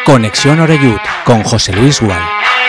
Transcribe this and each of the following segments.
Conexión Oreyud con José Luis Gual.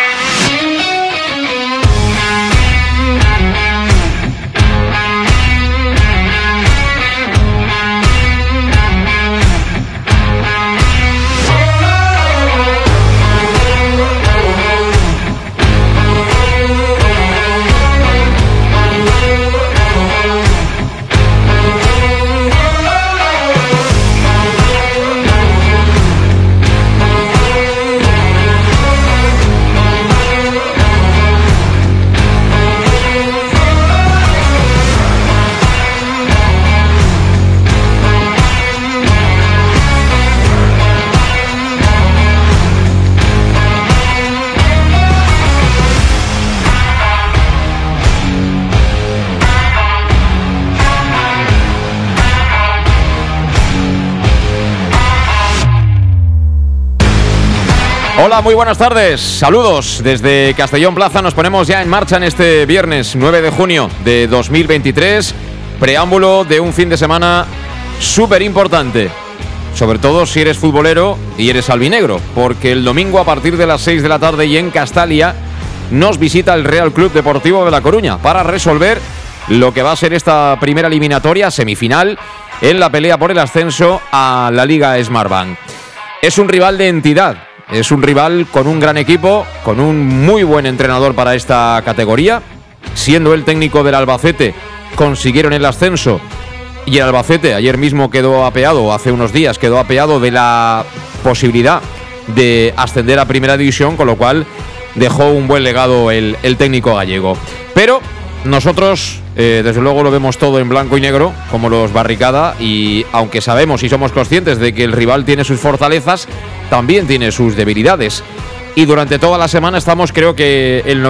Hola, muy buenas tardes, saludos desde Castellón Plaza. Nos ponemos ya en marcha en este viernes 9 de junio de 2023, preámbulo de un fin de semana súper importante, sobre todo si eres futbolero y eres albinegro, porque el domingo a partir de las 6 de la tarde y en Castalia nos visita el Real Club Deportivo de La Coruña para resolver lo que va a ser esta primera eliminatoria semifinal en la pelea por el ascenso a la Liga Smartbank. Es un rival de entidad. Es un rival con un gran equipo, con un muy buen entrenador para esta categoría. Siendo el técnico del Albacete, consiguieron el ascenso. Y el Albacete ayer mismo quedó apeado, o hace unos días quedó apeado de la posibilidad de ascender a Primera División, con lo cual dejó un buen legado el técnico gallego. Pero nosotros, desde luego, lo vemos todo en blanco y negro, como los Barricada, y aunque sabemos y somos conscientes de que el rival tiene sus fortalezas, también tiene sus debilidades. Y durante toda la semana estamos, creo que el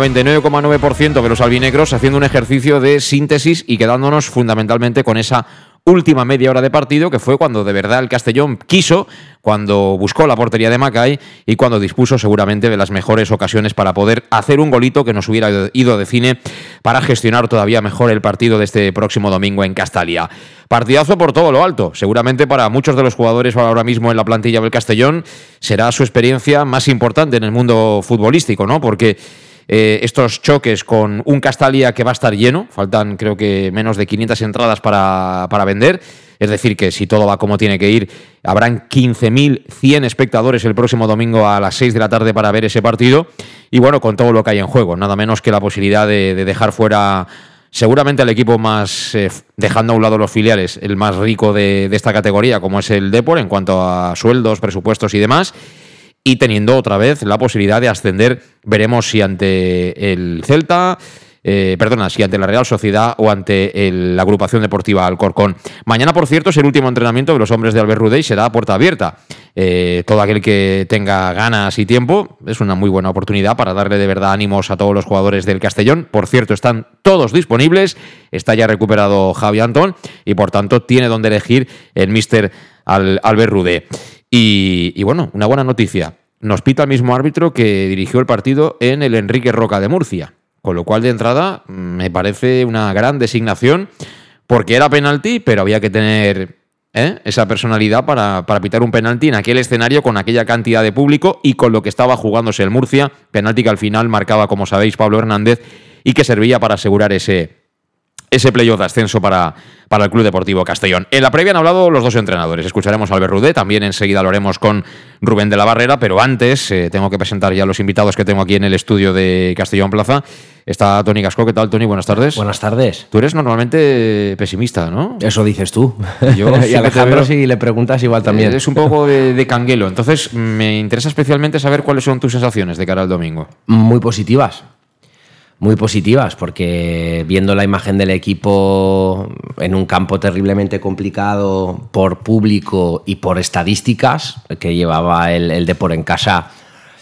99,9% de los albinegros haciendo un ejercicio de síntesis y quedándonos fundamentalmente con esa última media hora de partido, que fue cuando de verdad el Castellón quiso, cuando buscó la portería de Macay y cuando dispuso seguramente de las mejores ocasiones para poder hacer un golito que nos hubiera ido de cine para gestionar todavía mejor el partido de este próximo domingo en Castalia. Partidazo por todo lo alto. Seguramente para muchos de los jugadores ahora mismo en la plantilla del Castellón será su experiencia más importante en el mundo futbolístico, ¿no? Porque estos choques con un Castalia que va a estar lleno, faltan creo que menos de 500 entradas para vender, es decir que si todo va como tiene que ir, habrán 15.100 espectadores el próximo domingo a las 6 de la tarde para ver ese partido, y bueno, con todo lo que hay en juego, nada menos que la posibilidad de dejar fuera seguramente al equipo más, dejando a un lado los filiales, el más rico de esta categoría, como es el Depor en cuanto a sueldos, presupuestos y demás, y teniendo otra vez la posibilidad de ascender. Veremos si ante el Celta, si ante la Real Sociedad o ante la agrupación deportiva Alcorcón. Mañana, por cierto, es el último entrenamiento de los hombres de Albert Rudé y será a puerta abierta. Todo aquel que tenga ganas y tiempo, es una muy buena oportunidad para darle de verdad ánimos a todos los jugadores del Castellón. Por cierto, están todos disponibles, está ya recuperado Javi Antón y por tanto tiene donde elegir el míster Albert Rudé. Y bueno, una buena noticia. Nos pita el mismo árbitro que dirigió el partido en el Enrique Roca de Murcia. Con lo cual, de entrada, me parece una gran designación, porque era penalti, pero había que tener esa personalidad para pitar un penalti en aquel escenario, con aquella cantidad de público y con lo que estaba jugándose el Murcia. Penalti que al final marcaba, como sabéis, Pablo Hernández, y que servía para asegurar ese playoff de ascenso para el Club Deportivo Castellón. En la previa han hablado los dos entrenadores. Escucharemos a Albert Rudé, también enseguida lo haremos con Rubén de la Barrera, pero antes tengo que presentar ya a los invitados que tengo aquí en el estudio de Castellón Plaza. Está Toni Gascó. ¿Qué tal, Toni? Buenas tardes. Buenas tardes. Tú eres normalmente pesimista, ¿no? Eso dices tú. Yo y Alejandro, si le preguntas, igual también. Es un poco de canguelo. Entonces, me interesa especialmente saber cuáles son tus sensaciones de cara al domingo. Muy positivas. Muy positivas, porque viendo la imagen del equipo en un campo terriblemente complicado por público y por estadísticas que llevaba el Depor en casa,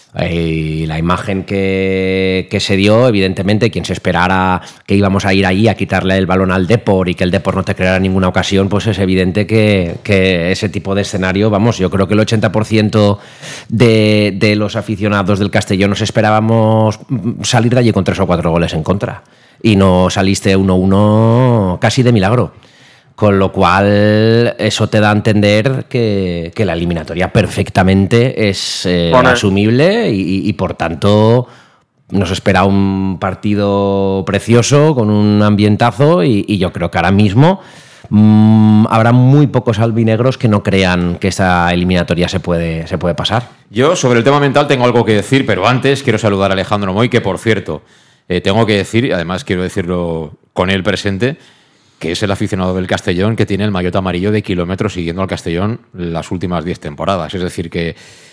y la imagen que se dio, evidentemente, quien se esperara que íbamos a ir allí a quitarle el balón al Depor y que el Depor no te creara ninguna ocasión, pues es evidente que ese tipo de escenario, vamos, yo creo que el 80% de los aficionados del Castellón nos esperábamos salir de allí con 3 o 4 goles en contra, y no saliste 1-1 casi de milagro. Con lo cual, eso te da a entender que la eliminatoria perfectamente es asumible y por tanto, nos espera un partido precioso con un ambientazo y yo creo que ahora mismo habrá muy pocos albinegros que no crean que esta eliminatoria se puede pasar. Yo sobre el tema mental tengo algo que decir, pero antes quiero saludar a Alejandro Moy, que por cierto, tengo que decir, y además quiero decirlo con él presente, que es el aficionado del Castellón que tiene el maillot amarillo de kilómetros siguiendo al Castellón las últimas 10 temporadas. Es decir, que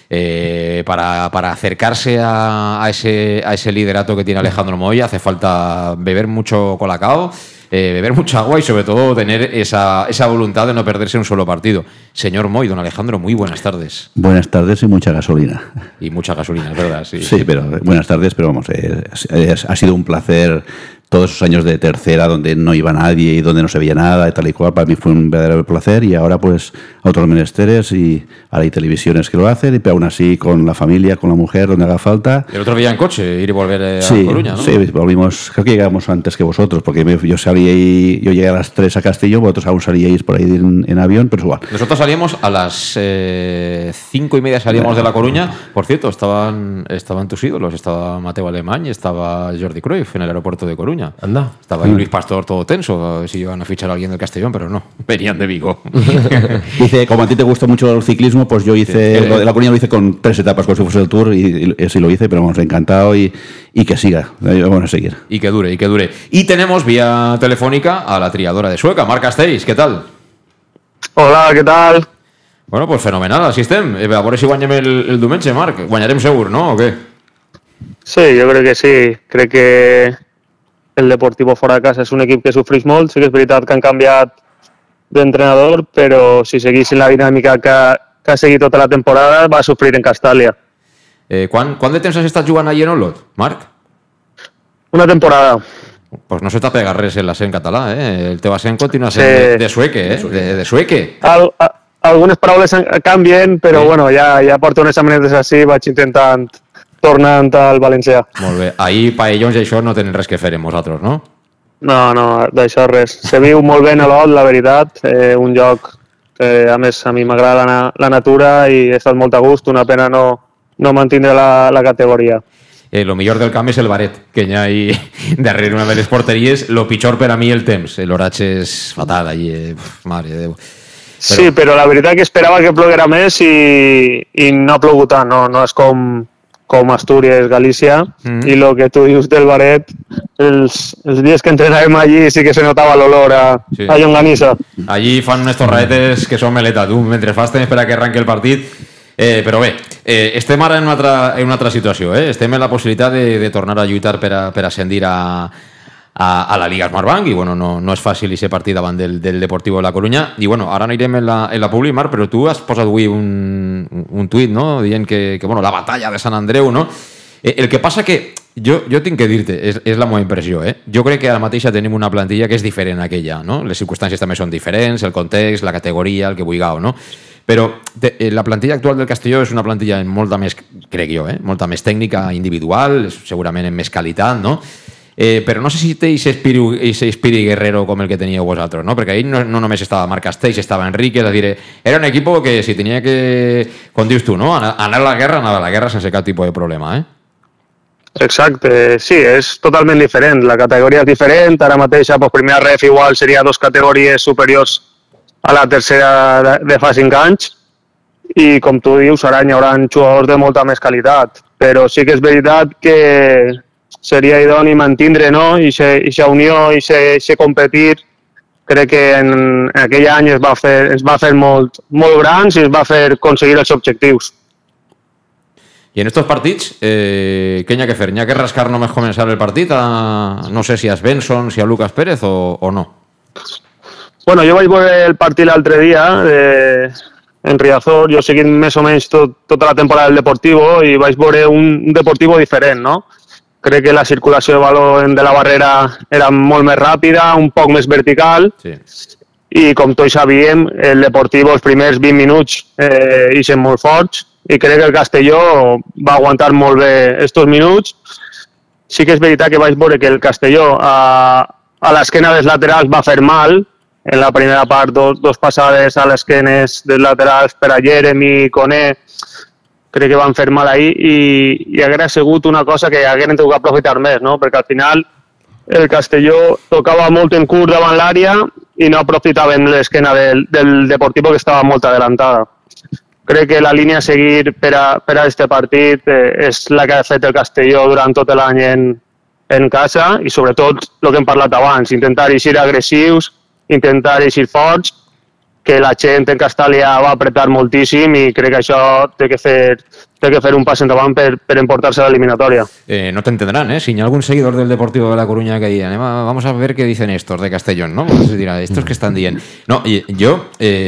para acercarse a ese liderato que tiene Alejandro Moy hace falta beber mucho colacao, beber mucha agua y sobre todo tener esa voluntad de no perderse un solo partido. Señor Moy, don Alejandro, muy buenas tardes. Buenas tardes y mucha gasolina. Y mucha gasolina, es verdad. Sí, pero buenas tardes, pero vamos, ha sido un placer todos esos años de tercera donde no iba nadie y donde no se veía nada y tal y cual. Para mí fue un verdadero placer y ahora pues a otros menesteres y ahora hay televisiones que lo hacen, pero aún así con la familia, con la mujer, donde haga falta. El otro día en coche, ir y volver a Coruña, ¿no? Sí, volvimos, creo que llegamos antes que vosotros, porque yo llegué a las 3 a Castellón, vosotros aún salíais por ahí en avión, pero es igual. Nosotros salíamos a las 5:30, salíamos de La Coruña. Por cierto, estaban tus ídolos, estaba Mateo Alemany, estaba Jordi Cruyff en el aeropuerto de Coruña. Anda. Estaba ahí Luis Pastor todo tenso, a ver si iban a fichar a alguien del Castellón, pero no, venían de Vigo. Dice, como a ti te gusta mucho el ciclismo, pues yo hice, lo de La Coruña lo hice con 3 etapas, como si fuese el Tour, y así lo hice, pero vamos, encantado y que siga, vamos a seguir. Y que dure. Y tenemos vía telefónica a la triadora de Sueca, Marc Castells, ¿qué tal? Hola, ¿qué tal? Bueno, pues fenomenal, així estem. A veure si guanyem el diumenge, Marc. Guanyarem segur, no? O què? Sí, jo crec que sí. Crec que el Deportivo fora de casa és un equip que sofreix molt. Sí que és veritat que han canviat d'entrenador, però si seguissin la dinàmica que ha seguit tota la temporada, va sofrir en Castàlia. Quant de temps has estat jugant allí en Olot, Marc? Una temporada. Pues no se t'ha pegat res en l'accent català, eh? El teu accent continua sent de sueque, eh? De sueque. Algunes paraules canvien, però sí. Bueno, ja porto unes setmanetes així, vaig intentant tornant al valencià. Molt bé. Ahir paellons i això no tenen res que fer amb vosaltres, no? No, d'això res. Se viu molt bé en Olot, la veritat. Un lloc que, a més, a mi m'agrada la natura i he estat molt a gust. Una pena no mantindre la categoria. Lo millor del camp és el baret, que hi ha ahí darrere una de les porteries. Lo pitjor per a mi el temps. L'oratge és fatal allí. Mare de Déu. Sí, però la veritat que esperava que ploguera més i no ha plogut tant. No és com Astúries, Galícia, i el que tu dius del baret, els dies que entrenàvem allí sí que se notava l'olor a llonganissa. Allí fan unes torradetes que són meleta, tu, mentre fas temps per a que arranqui el partit. Però bé, estem ara en una altra situació, estem en la possibilitat de tornar a lluitar per a ascendir a la Liga Smartbank i bueno, no és fàcil aquest partit davant del Deportivo de La Coruña i bueno, ara anirem en la Publi, Marc, però tu has posat avui un tuit, no? Dient que bueno, la batalla de Sant Andreu, no? El que passa que jo tinc que dir-te, és la meva impressió, jo crec que ara mateixa tenim una plantilla que és diferent a aquella, no? Les circumstàncies també són diferents, el context, la categoria, el que vulgueu, no? Però la plantilla actual del Castelló és una plantilla amb molta més, crec jo, molta més tècnica individual, segurament amb més qualitat, no? Però no sé si té aquest espírit guerrero com el que teníeu vosaltres, no? Perquè ahir no només estava Marc Castells, estava Enrique, és a dir, era un equip que si tenia que, com dius tu, no? Anar a la guerra, anava a la guerra sense cap tipus de problema, Exacte, sí, és totalment diferent, la categoria és diferent, ara mateix a primera ref igual seria 2 categories superiors a la tercera de fa 5 anys i com tu dius, ara hi haurà jugadors de molta més qualitat, però sí que és veritat que seria idoni mantindre, no? Ixa unió, ixa competir, crec que en aquell any es va fer molt grans i es va fer aconseguir els objectius. I en estos partits, què hi ha que fer? Hi ha que rascar només començar el partit no sé si a Svensson, si a Lucas Pérez o no? Bueno, jo vaig veure el partit l'altre dia en Riazor, jo seguint més o menys tota la temporada del Deportivo i vaig veure un Deportivo diferent, no? Crec que la circulació de baló de la barrera era molt més ràpida, un poc més vertical, sí. I com tots sabíem, el Deportivo els primers 20 minuts ixen molt forts i crec que el Castelló va aguantar molt bé estos minuts. Sí que és veritat que vaig veure que el Castelló a l'esquena dels laterals va fer mal en la primera part dos passades a l'esquenes dels laterals per a Jeremy, Koné, crec que van fer mal ahir i haguera sigut una cosa que hagueren tingut que aprofitar més, no? Perquè al final el Castelló tocava molt en curt davant l'àrea i no aprofitaven l'esquena del Deportivo, que estava molt adelantada. Crec que la línia a seguir per a este partit és la que ha fet el Castelló durant tot l'any en casa i sobretot el que hem parlat abans, intentar eixir agressius, intentar eixir forts, que la gent en Castàlia va apretar moltíssim i crec que això té que fer un pas endavant per emportar-se a l'eliminatòria. No te entenderán, ¿eh? Si hay algún seguidor del Deportivo de La Coruña que diga, vamos a ver qué dicen estos de Castellón, ¿no? Se dirá, estos que están dient. No, jo,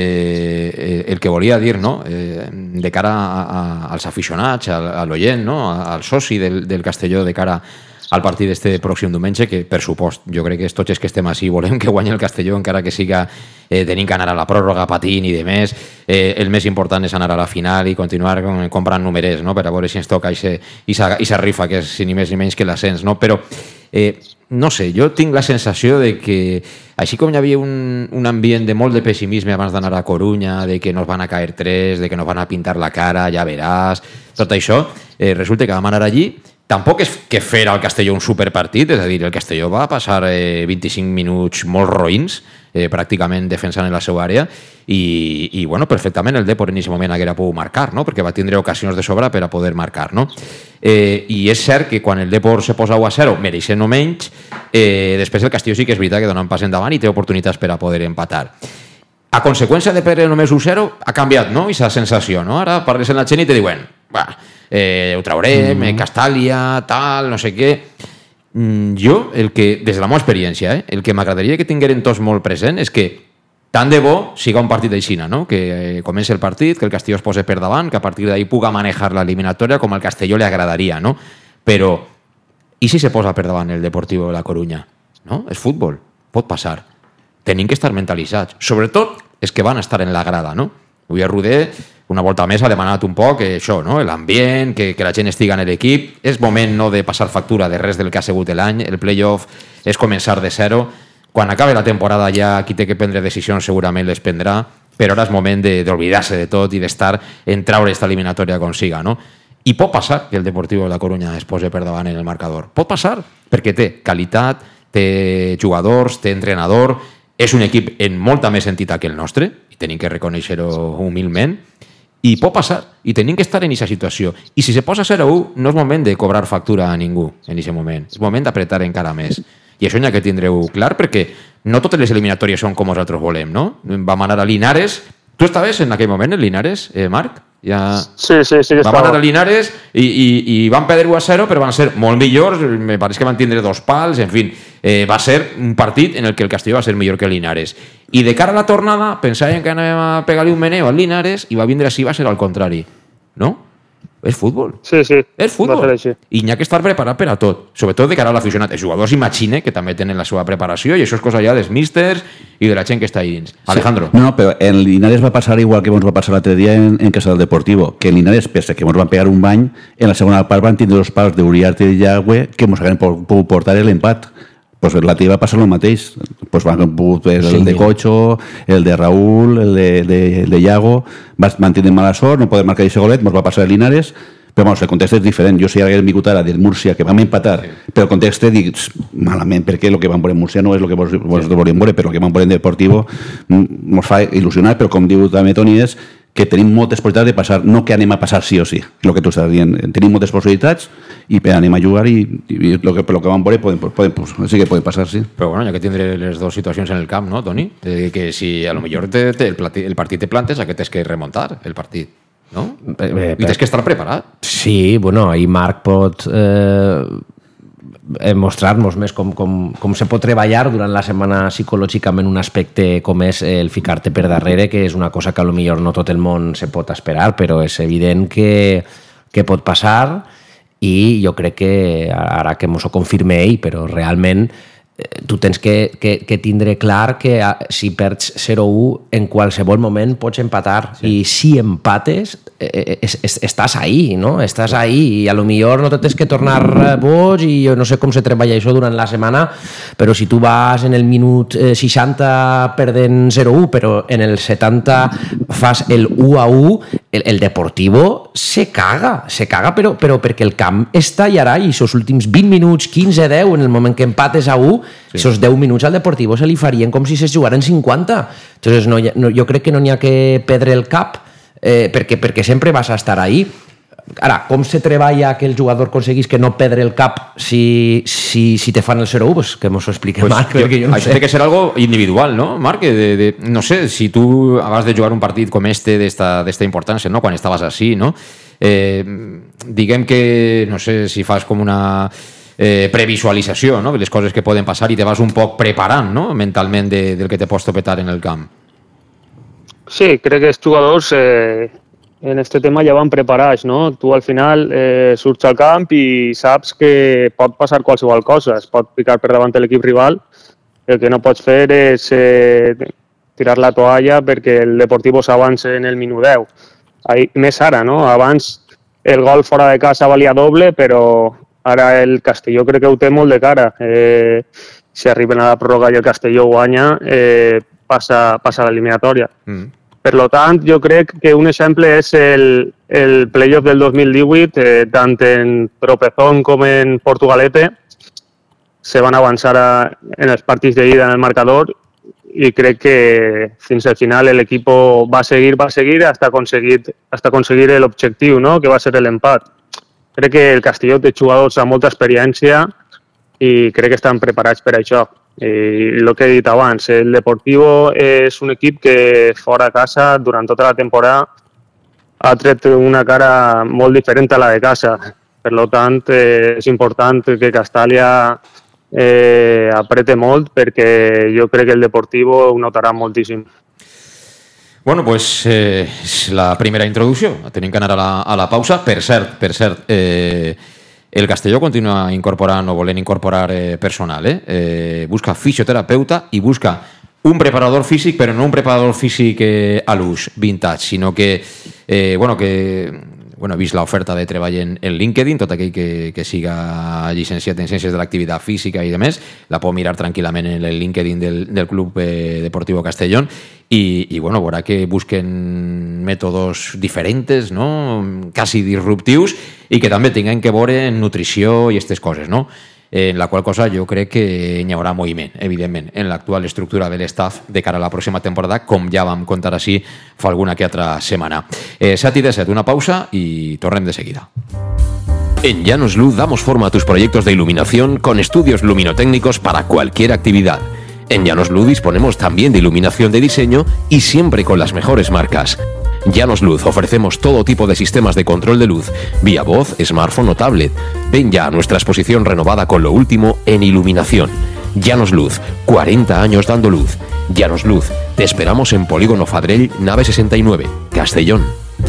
el que volia dir, no? De cara als aficionats, a l'oient, no? Al soci del Castelló de cara al partit d'este pròxim diumenge, que per supost, jo crec que tots els que estem així volem que guanyi el Castelló, encara que siga tenint que anar a la pròrroga patint i de més. El més important és anar a la final i continuar comprant numerers, no? Per a veure si ens toca i rifa, que és ni més ni menys que l'ascens, no? Però no sé, jo tinc la sensació de que així com hi havia un ambient de molt de pessimisme abans d'anar a Corunya, de que nos van a caer 3, de que nos van a pintar la cara, ja veràs, tot això, resulta que vam anar allí. Tampoc és que fer al Castelló un superpartit, és a dir, el Castelló va passar 25 minuts molt roïns, pràcticament defensant en la seva àrea, i bueno, perfectament el Depor en aquest moment haguera pogut marcar, no? Perquè va tindre ocasions de sobra per a poder marcar, no? I és cert que quan el Depor se posa 1-0, mereixent o menys, després el Castelló sí que és veritat que dona un pas endavant i té oportunitats per a poder empatar. A conseqüència de perdre només 1-0, ha canviat, no?, aquesta sensació, no? Ara parles en la gent i te diuen, ho traurem, Castàlia, tal, no sé què. Jo, des de la meva experiència, el que m'agradaria que tingueren tots molt present és que tant de bo siga un partit d'aixina, no? Que comenci el partit, que el Castelló es posi per davant, que a partir d'ahí puga manejar l'eliminatòria com al Castelló li agradaria, no? Però, i si se posa per davant el Deportivo de La Corunya? No? És futbol, pot passar. Tenim que estar mentalitzats. Sobretot és que van estar en la grada, no? Avui a Roder, una volta més, ha demanat un poc això, no? L'ambient, que la gent estiga en l'equip. És moment no de passar factura de res del que ha sigut l'any. El playoff és començar de zero. Quan acabe la temporada ja qui té que prendre decisions segurament les prendrà, però ara és moment d'oblidar-se de tot i d'estar en traure aquesta eliminatòria com siga, no? I pot passar que el Deportivo de La Corunya es posi per davant en el marcador. Pot passar, perquè té qualitat, té jugadors, té entrenador, és un equip en molta més entitat que el nostre, i tenim que reconèixer-ho humilment, i pot passar, i tenim que estar en aquesta situació. I si se posa 0-1, no és moment de cobrar factura a ningú en aquest moment, és moment d'apretar encara més. I això n'hi ha que tindreu clar, perquè no totes les eliminatòries són com nosaltres volem, no? Vam anar a Linares. Tu estaves en aquell moment en Linares, Marc? Ja... Sí, vam anar a Linares i van perdre 1-0, però van ser molt millors, me pareix que van tindre 2 pals, en fi, va ser un partit en el que el Castelló va ser millor que el Linares. I de cara a la tornada, pensàvem que anàvem a pegar-li un meneo al Linares i va vindre així, va ser al contrari. No? És futbol. Sí. És futbol. I n'hi ha que estar preparat per a tot. Sobretot de cara a l'aficionat. Els jugadors imagine que també tenen la seva preparació i això és cosa ja dels místers i de la gent que està ahí dins. Alejandro. No, però en Linares va passar igual que ens va passar l'altre dia en Casa del Deportivo, que en Linares, pese que ens van pegar un bany, en la segona part van tindre 2 pals d'Uriarte i Yagüe que ens hagueren pogut portar l'empat. Pues la teva va passar el mateix. Pues van pogut el de Cocho, el de Raúl, el de Iago, van tindre mala sort, no poder marcar aquest golet, ens va passar el Linares, però el context és diferent. Jo si hagués vingut ara del Múrcia, que vam empatar, però el context dic malament, perquè el que vam veure en Múrcia no és el que vosaltres volíem veure, però el que vam veure en Deportivo ens fa il·lusionar, però com diu també Toni és que tenim moltes possibilitats de passar, no que anem a passar sí o sí, el que tu estàs dient. Tenim moltes possibilitats i anem a jugar i el que vam veure sí que pot passar, sí. Però bueno, ja que tindré les dues situacions en el camp, no, Toni? Que si a lo millor el partit te plantes, a què tens que remuntar el partit, no? I tens que estar preparat. Sí, bueno, ahí Marc pot mostrar-nos més com se pot treballar durant la setmana psicològicament un aspecte com és el ficar-te per darrere, que és una cosa que potser no tot el món se pot esperar, però és evident que pot passar i jo crec que ara que mos ho confirme ell, però realment tu tens que tindre clar que si perds 0-1 en qualsevol moment pots empatar, i si empates estàs ahí, no? Estàs ahí i a lo millor no te tens que tornar boig, i jo no sé com se treballa això durant la setmana, però si tu vas en el minut 60 perdent 0-1, però en el 70 fas el 1-1, el Deportivo se caga, però perquè el camp està allà, i els últims 20 minuts, 15-10, en el moment que empates a 1, esos 10 minuts al Deportivo se li farien com si se jugaren 50. Entonces jo crec que no n'hi ha que perdre el cap, perquè sempre vas a estar ahí. Ara, com se treballa que el jugador aconseguís que no perdre el cap si te fan el 0-1? Pues que mos ho explique Marc, perquè jo no sé. Això té que ser algo individual, no, Marc? No sé, si tu abans de jugar un partit com d'esta importància, no? Quan estaves així, no? Diguem que, no sé, si fas com una previsualització, no? De les coses que poden passar i te vas un poc preparant, no? Mentalment del que te pots topetar en el camp. Sí, crec que els jugadors en este tema ja van preparats, no? Tu al final surts al camp i saps que pot passar qualsevol cosa, es pot picar per davant de l'equip rival, el que no pots fer és tirar la toalla perquè el Deportivo s'avança en el minut 10. Més ara, no? Abans el gol fora de casa valia doble, però ara el Castelló crec que ho té molt de cara. Si arriben a la pròrroga i el Castelló guanya, passa a l'eliminatòria. Per tant, jo crec que un exemple és el playoff del 2018, tant en Tropezón com en Portugalete, se van avançar en els partits d'ida en el marcador, i crec que fins al final l'equip va seguir hasta aconseguir l'objectiu, no? Que va ser l'empat. Crec que el Castelló té jugadors amb molta experiència i crec que estan preparats per això. I el que he dit abans, el Deportivo és un equip que fora a casa durant tota la temporada ha tret una cara molt diferent a la de casa. Per tant, és important que Castàlia aprete molt, perquè jo crec que el Deportivo ho notarà moltíssim. Bueno, pues és la primera introducció. Tenim que anar a la pausa. Per cert, el Castelló continua incorporant o volent incorporar personal. Busca fisioterapeuta i busca un preparador físic, però no un preparador físic a l'ús, vintage, sinó que he vist l'oferta de treball en LinkedIn, tot aquell que siga llicenciat en Ciències de l'Activitat Física i demés, la pot mirar tranquil·lament en el LinkedIn del Club Deportivo Castellón i veurà que busquen mètodes diferents, no? Quasi disruptius, i que també tinguin que veure en nutrició i aquestes coses, no? En la qual cosa jo crec que hi haurà moviment, evidentment, en l'actual estructura de l'estaf de cara a la pròxima temporada, com ja vam contar així fa alguna que altra setmana. 7:17, una pausa y tornem de seguida. En Llanos Luz damos forma a tus proyectos de iluminación con estudios luminotécnicos para cualquier actividad. En Llanos Luz disponemos también de iluminación de diseño y siempre con las mejores marcas. Llanos Luz ofrecemos todo tipo de sistemas de control de luz, vía voz, smartphone o tablet. Ven ya a nuestra exposición renovada con lo último en iluminación. Llanos Luz, 40 años dando luz. Llanos Luz, te esperamos en Polígono Fadrell, nave 69, Castellón.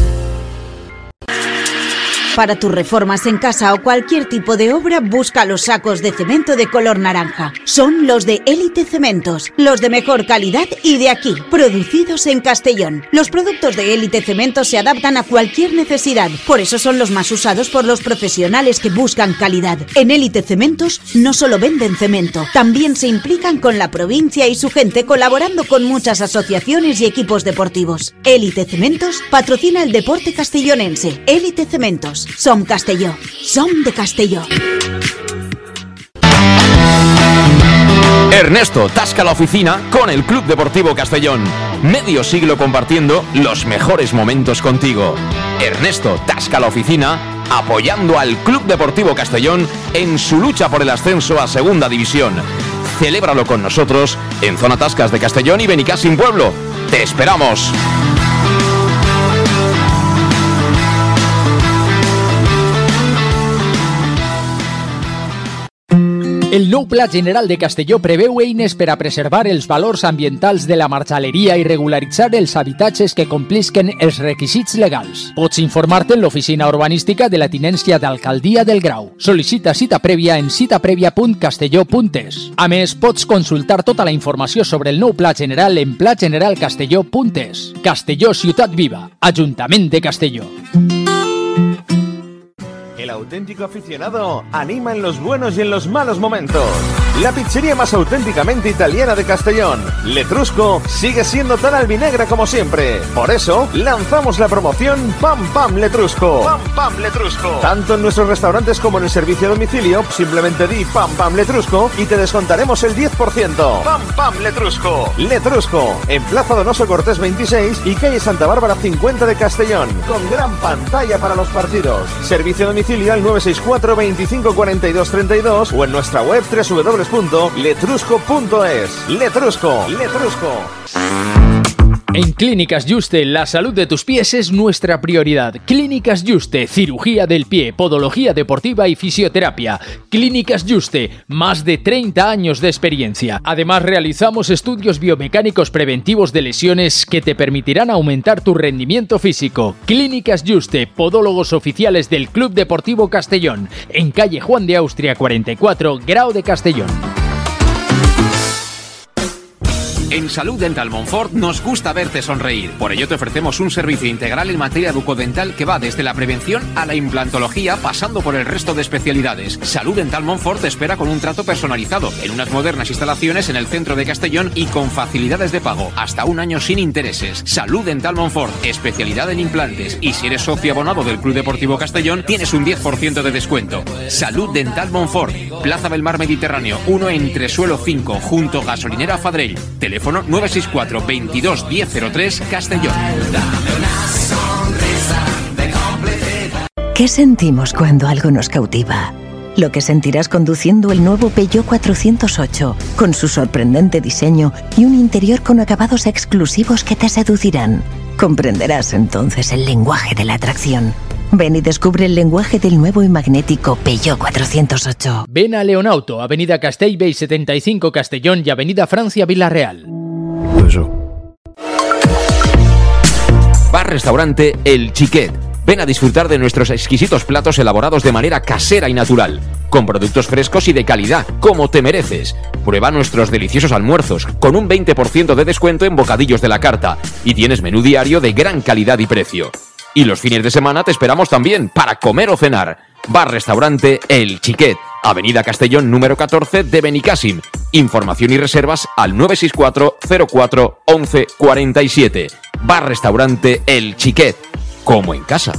Para tus reformas en casa o cualquier tipo de obra, busca los sacos de cemento de color naranja. Son los de Élite Cementos, los de mejor calidad y de aquí, producidos en Castellón. Los productos de Élite Cementos se adaptan a cualquier necesidad, por eso son los más usados por los profesionales que buscan calidad. En Élite Cementos no solo venden cemento, también se implican con la provincia y su gente, colaborando con muchas asociaciones y equipos deportivos. Élite Cementos patrocina el deporte castellonense. Élite Cementos. Som Castelló. Som de Castelló. Ernesto tasca la oficina con el Club Deportivo Castellón. Medio siglo compartiendo los mejores momentos contigo. Ernesto tasca la oficina apoyando al Club Deportivo Castellón en su lucha por el ascenso a Segunda División. Celébralo con nosotros en Zona Tascas de Castellón y Benicàssim Pueblo. ¡Te esperamos! El nou Pla General de Castelló preveu eines per a preservar els valors ambientals de la marxaleria i regularitzar els habitatges que complisquen els requisits legals. Pots informar-te en l'oficina urbanística de la tinència d'Alcaldia del Grau. Sol·licita cita prèvia en citaprevia.castelló.es. A més, pots consultar tota la informació sobre el nou Pla General en plageneralcastelló.es. Castelló, ciutat viva. Ajuntament de Castelló. El auténtico aficionado anima en los buenos y en los malos momentos. La pizzería más auténticamente italiana de Castellón, Letrusco, sigue siendo tan albinegra como siempre. Por eso, lanzamos la promoción Pam Pam Letrusco. Pam Pam Letrusco. Tanto en nuestros restaurantes como en el servicio a domicilio, simplemente di Pam Pam Letrusco y te descontaremos el 10%. Pam Pam Letrusco. Letrusco, en Plaza Donoso Cortés 26 y calle Santa Bárbara 50 de Castellón, con gran pantalla para los partidos. Servicio a domicilio al 964 25 42 32 o en nuestra web www.letrusco.es. Letrusco. En Clínicas Juste, la salud de tus pies es nuestra prioridad. Clínicas Juste, cirugía del pie, podología deportiva y fisioterapia. Clínicas Juste, más de 30 años de experiencia. Además, realizamos estudios biomecánicos preventivos de lesiones que te permitirán aumentar tu rendimiento físico. Clínicas Juste, podólogos oficiales del Club Deportivo Castellón, en calle Juan de Austria 44, Grau de Castellón. En Salud Dental Montfort nos gusta verte sonreír. Por ello te ofrecemos un servicio integral en materia bucodental que va desde la prevención a la implantología, pasando por el resto de especialidades. Salud Dental Montfort te espera con un trato personalizado, en unas modernas instalaciones en el centro de Castellón y con facilidades de pago, hasta un año sin intereses. Salud Dental Montfort, especialidad en implantes. Y si eres socio abonado del Club Deportivo Castellón, tienes un 10% de descuento. Salud Dental Montfort, Plaza del Mar Mediterráneo, 1 Entresuelo 5, junto Gasolinera Fadrell. Teléfono 964 22 1003 Castellón. ¿Qué sentimos cuando algo nos cautiva? Lo que sentirás conduciendo el nuevo Peugeot 408, con su sorprendente diseño y un interior con acabados exclusivos que te seducirán. Comprenderás entonces el lenguaje de la atracción. Ven y descubre el lenguaje del nuevo y magnético Peugeot 408. Ven a Leonauto, Avenida Castellbey 75 Castellón y Avenida Francia Villarreal. Bar-restaurante El Xiquet. Ven a disfrutar de nuestros exquisitos platos elaborados de manera casera y natural, con productos frescos y de calidad, como te mereces. Prueba nuestros deliciosos almuerzos, con un 20% de descuento en bocadillos de la carta, y tienes menú diario de gran calidad y precio. Y los fines de semana te esperamos también para comer o cenar. Bar-restaurante El Xiquet, Avenida Castellón número 14 de Benicàssim. Información y reservas al 964 04 11 47. Bar-restaurante El Xiquet, como en casa.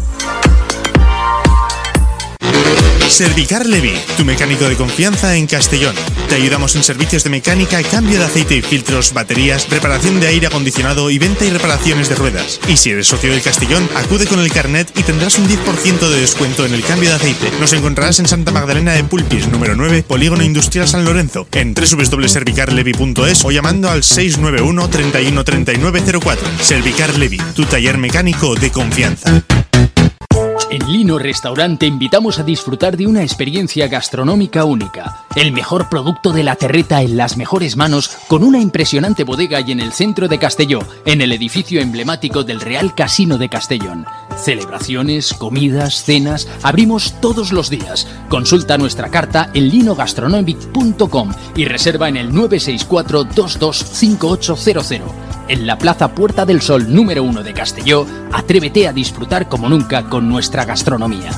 Servicar Levi, tu mecánico de confianza en Castellón. Te ayudamos en servicios de mecánica, cambio de aceite y filtros, baterías, reparación de aire acondicionado y venta y reparaciones de ruedas. Y si eres socio del Castellón, acude con el carnet y tendrás un 10% de descuento en el cambio de aceite. Nos encontrarás en Santa Magdalena de Pulpis, número 9, Polígono Industrial San Lorenzo, en www.servicarlevi.es o llamando al 691 31 39 04. Servicar Levi, tu taller mecánico de confianza. En Lino Restaurant te invitamos a disfrutar de una experiencia gastronómica única. El mejor producto de la terreta en las mejores manos, con una impresionante bodega y en el centro de Castelló, en el edificio emblemático del Real Casino de Castellón. Celebraciones, comidas, cenas, abrimos todos los días. Consulta nuestra carta en linogastronomic.com y reserva en el 964 225800. En la Plaza Puerta del Sol número 1 de Castelló, atrévete a disfrutar como nunca con nuestra gastronomía.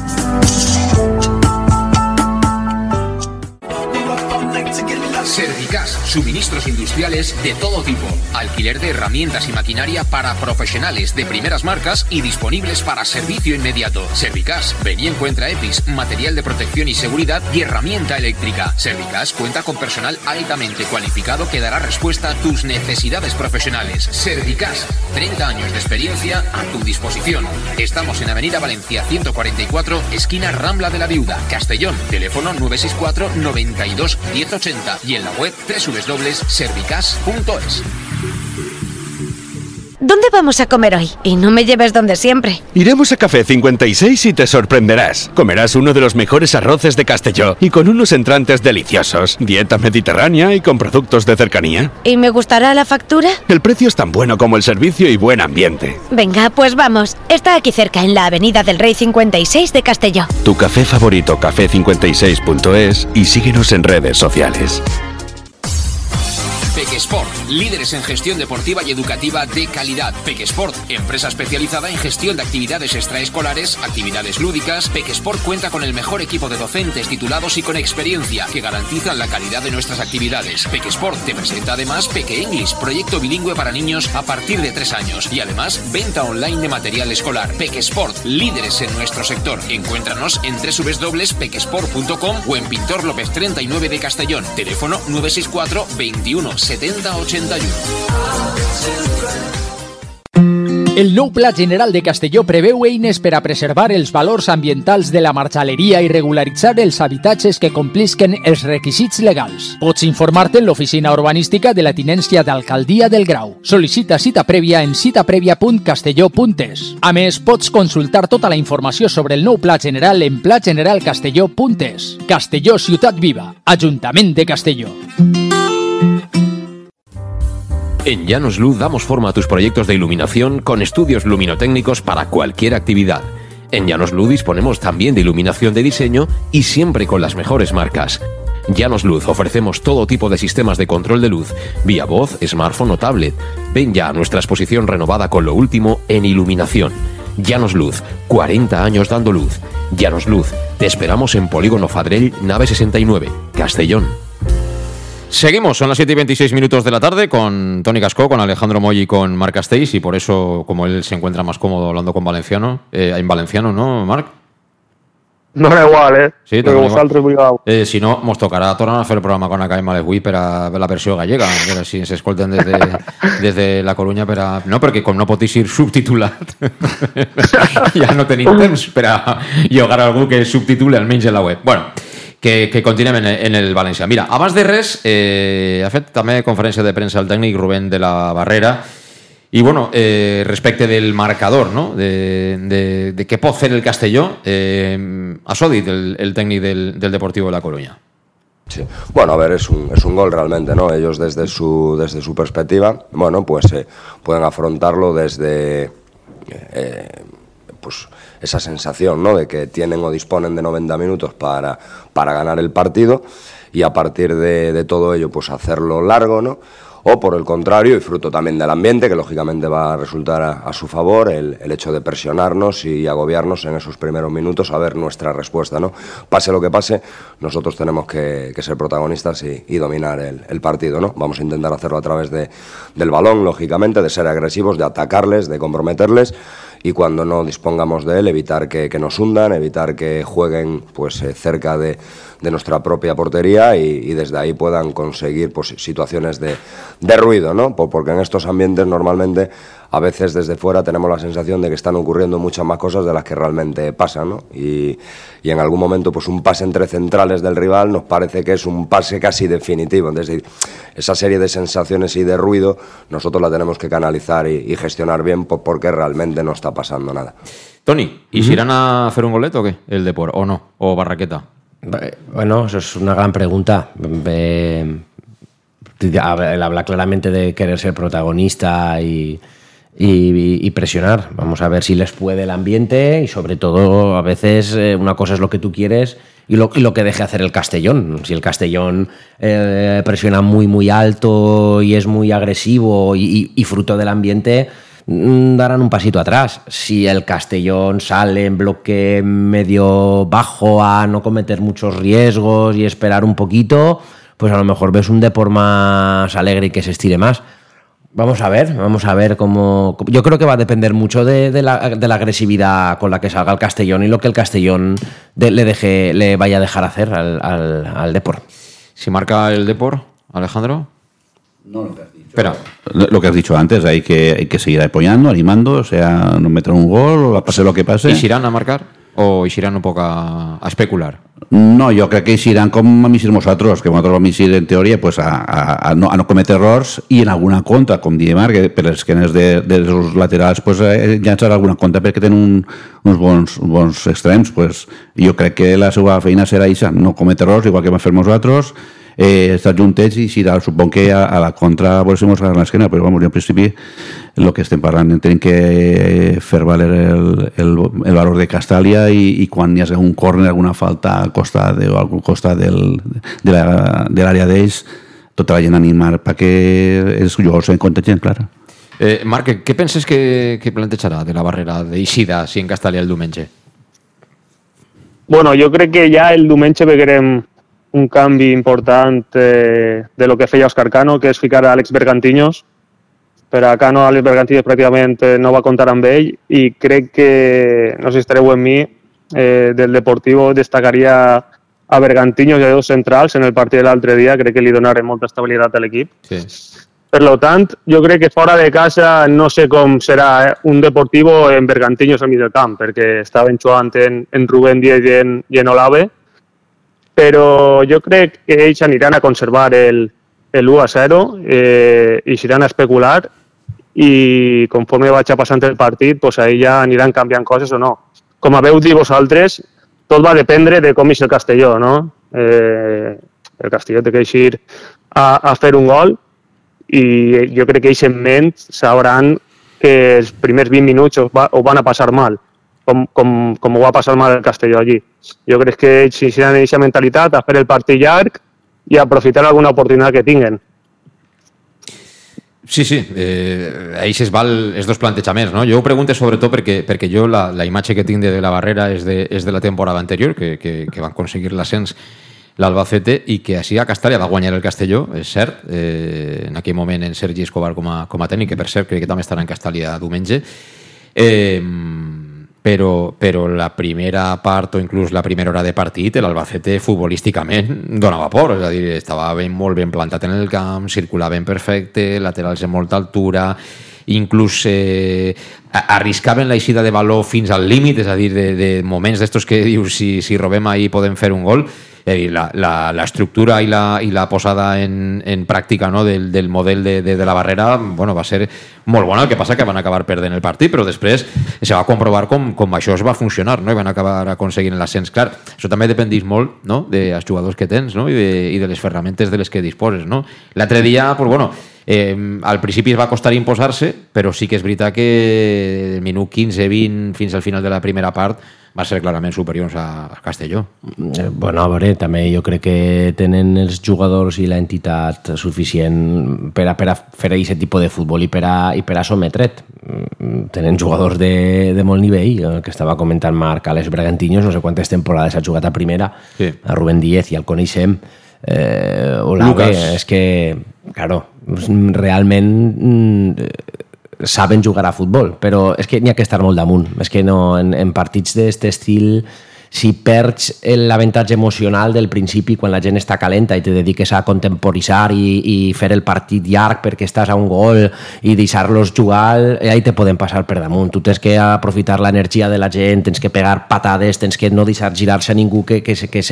Servicas, suministros industriales de todo tipo, alquiler de herramientas y maquinaria para profesionales de primeras marcas y disponibles para servicio inmediato. Servicas, ven y encuentra EPIs, material de protección y seguridad y herramienta eléctrica. Servicas cuenta con personal altamente cualificado que dará respuesta a tus necesidades profesionales. Servicas, 30 años de experiencia a tu disposición. Estamos en Avenida Valencia 144, esquina Rambla de la Viuda, Castellón. Teléfono 964 92 1080 y en la web www.servicas.es. ¿Dónde vamos a comer hoy? Y no me lleves donde siempre. Iremos a Café 56 y te sorprenderás. Comerás uno de los mejores arroces de Castelló y con unos entrantes deliciosos. Dieta mediterránea y con productos de cercanía. ¿Y me gustará la factura? El precio es tan bueno como el servicio y buen ambiente. Venga, pues vamos. Está aquí cerca, en la Avenida del Rey 56 de Castelló. Tu café favorito, café56.es, y síguenos en redes sociales. Pequesport, líderes en gestión deportiva y educativa de calidad. Pequesport, empresa especializada en gestión de actividades extraescolares, actividades lúdicas. Pequesport cuenta con el mejor equipo de docentes titulados y con experiencia que garantizan la calidad de nuestras actividades. Pequesport te presenta además Peque English, proyecto bilingüe para niños a partir de 3 años y además venta online de material escolar. Pequesport, líderes en nuestro sector. Encuéntranos en www.pequesport.com o en Pintor López 39 de Castellón. Teléfono 964 21 70 81. El nou Pla General de Castelló preveu eines per a preservar els valors ambientals de la marxaleria i regularitzar els habitatges que complisquen els requisits legals. Pots informar-te en l'oficina urbanística de la Tinència d'Alcaldia del Grau. Sol·licita cita prèvia en citaprèvia.castelló.es. A més, pots consultar tota la informació sobre el nou Pla General en plageneralcastelló.es. Castelló, ciutat viva. Ajuntament de Castelló. En Llanos Luz damos forma a tus proyectos de iluminación con estudios luminotécnicos para cualquier actividad. En Llanos Luz disponemos también de iluminación de diseño y siempre con las mejores marcas. Llanos Luz ofrecemos todo tipo de sistemas de control de luz, vía voz, smartphone o tablet. Ven ya a nuestra exposición renovada con lo último en iluminación. Llanos Luz, 40 años dando luz. Llanos Luz, te esperamos en Polígono Fadrell, nave 69, Castellón. Seguimos, son las 7:26 de la tarde con Toni Cascó, con Alejandro Moll y con Marc Castells, y por eso, como él se encuentra más cómodo hablando con valenciano, en valenciano, ¿no, Marc? No era igual, Sí, si no, nos tocarà tornar a fer el programa con Academy Malesbuí per a la versió gallega, a veure si s'escolten des la Corunya per a... No, perquè com no pot ser subtitulat, ja no tenim temps per a llogar algú que subtitule almenys en la web. Bueno, que continuem en el València. Mira, abans de res, ha fet també conferència de premsa el tècnic Rubén de la Barrera i, bueno, respecte del marcador, no? de què pot fer el Castelló, això ha dit el tècnic del Deportivo de la Coruña. Sí. Bueno, a ver, es un gol realmente, ¿no? Ellos desde su perspectiva, bueno, pues pueden afrontarlo desde... pues esa sensación, ¿no?, de que tienen o disponen de 90 minutos para ganar el partido y a partir de todo ello pues hacerlo largo, ¿no? O por el contrario, y fruto también del ambiente, que lógicamente va a resultar a su favor, el hecho de presionarnos y agobiarnos en esos primeros minutos a ver nuestra respuesta, ¿no? Pase lo que pase, nosotros tenemos que ser protagonistas y dominar el partido, ¿no? Vamos a intentar hacerlo a través del balón, lógicamente, de ser agresivos, de atacarles, de comprometerles, y cuando no dispongamos de él, evitar que nos hundan, evitar que jueguen pues cerca de nuestra propia portería y desde ahí puedan conseguir pues situaciones de ruido, ¿no? Porque en estos ambientes normalmente a veces desde fuera tenemos la sensación de que están ocurriendo muchas más cosas de las que realmente pasan, ¿no? Y en algún momento pues un pase entre centrales del rival nos parece que es un pase casi definitivo. Entonces esa serie de sensaciones y de ruido nosotros la tenemos que canalizar y gestionar bien porque realmente no está pasando nada. Toni, ¿y si irán a hacer un goleto o qué? ¿El Depor o no? ¿O Barraqueta? Bueno, eso es una gran pregunta. Él habla claramente de querer ser protagonista y presionar. Vamos a ver si les puede el ambiente y sobre todo a veces una cosa es lo que tú quieres y lo que deje hacer el Castellón. Si el Castellón presiona muy muy alto y es muy agresivo y fruto del ambiente, darán un pasito atrás. Si el Castellón sale en bloque medio bajo a no cometer muchos riesgos y esperar un poquito, pues a lo mejor ves un Depor más alegre y que se estire más. Vamos a ver cómo... Yo creo que va a depender mucho de la agresividad con la que salga el Castellón y lo que el Castellón le vaya a dejar hacer al Depor. ¿Si marca el Depor, Alejandro? No, lo que has dicho. Espera. Lo que has dicho antes, hay que seguir apoyando, animando, o sea, no meter un gol o pase lo que pase. ¿Y si irán a marcar? o iran un poc a especular? No, jo crec que iran com a missir nosaltres, que nosaltres vam eixir en teoria pues, a no cometre errors i en alguna contra, com diem ara, que per les esquenes dels laterals pues, llançar alguna contra perquè tenen uns bons extrems. Pues, jo crec que la seva feina serà això, no cometre errors, igual que vam fer nosaltres, estar juntets i si supon que a la contra volem mostrar l'esquena, però jo en principi el que estem parlant tenim que fer valer el valor de Castàlia i quan hi ha un córner, alguna falta al costat o al costat de l'àrea d'ells, tota la gent animar perquè els jugadors se contagien, clar. Marc, què penses que plantejarà de la barrera d'eixida si en Castàlia el diumenge? Bueno, jo crec que ja el diumenge veurem un canvi important de lo que feia Òscar Cano, que és ficar a Àlex Bergantiños. Per a Cano, Àlex Bergantiños pràcticament no va comptar amb ell i crec que, no sé si estareu amb mi, del Deportivo destacaria a Bergantiños i a dos centrals en el partit de l'altre dia, crec que li donaren molta estabilitat a l'equip. Sí. Per tant, jo crec que fora de casa no sé com serà un Deportivo en Bergantiños al mig del camp, perquè estaven jugant en Rubén Díaz i en Olave, però jo crec que ells aniran a conservar el 1-0 i s'aniran a especular i conforme vaig passant el partit, pues ahí ja aniran canviant coses o no. Com veu dir vosaltres, tot va dependre de com és el Castelló, no? El Castelló té que eixir a fer un gol i jo crec que ells en ment sabran que els primers 20 minuts ho van a passar mal, com ho va passar mal el Castelló allí. Jo crec que ells tenen aquesta mentalitat a fer el partit llarg i aprofitar alguna oportunitat que tinguen. Sí, ells es val els dos plantejaments, no? Jo ho pregunto sobretot perquè jo la imatge que tinc de la barrera és de la temporada anterior, que van aconseguir l'ascens l'Albacete i que així a Castàlia va guanyar el Castelló, és cert, en aquell moment en Sergi Escobar com a tècnic, que per cert crec que també estarà en Castàlia diumenge, però la primera part o inclús la primera hora de partit l'Albacete futbolísticament donava por, és a dir, estava molt ben plantat en el camp, circulava ben perfecte, laterals de molta altura, inclús arriscaven l'eixida de valor fins al límit, és a dir, de moments d'estos que dius si robem ahí podem fer un gol. És a dir, l'estructura i la posada en pràctica, no, del model de la barrera va ser molt bona, el que passa que van acabar perdent el partit, però després se va comprovar com això es va funcionar, no? I van acabar aconseguint l'ascens. Clar, això també dependeix molt, no, dels jugadors que tens, no? I de les ferramentes de les que disposes, no? L'altre dia, al principi es va costar imposar-se, però sí que és veritat que el minut 15-20 fins al final de la primera part va ser clarament superiors a Castelló. Bueno, a veure, també jo crec que tenen els jugadors i l'entitat suficient per a fer aquest tipus de futbol i per a sometre't. Tenen jugadors de molt nivell, el que estava comentant Marc, Àlex Bergantiños, no sé quantes temporades ha jugat a primera, sí. A Rubén Díaz i el coneixem, Olave, és que, claro, realment saben jugar a futbol, però és que n'hi ha que estar molt damunt. És que no, en partits d'aquest estil, si perds l'avantatge emocional del principi quan la gent està calenta i te dediques a contemporitzar i fer el partit llarg perquè estàs a un gol i deixar-los jugar, ahí te poden passar per damunt. Tu tens que aprofitar l'energia de la gent, tens que pegar patades, tens que no deixar girar-se a ningú, que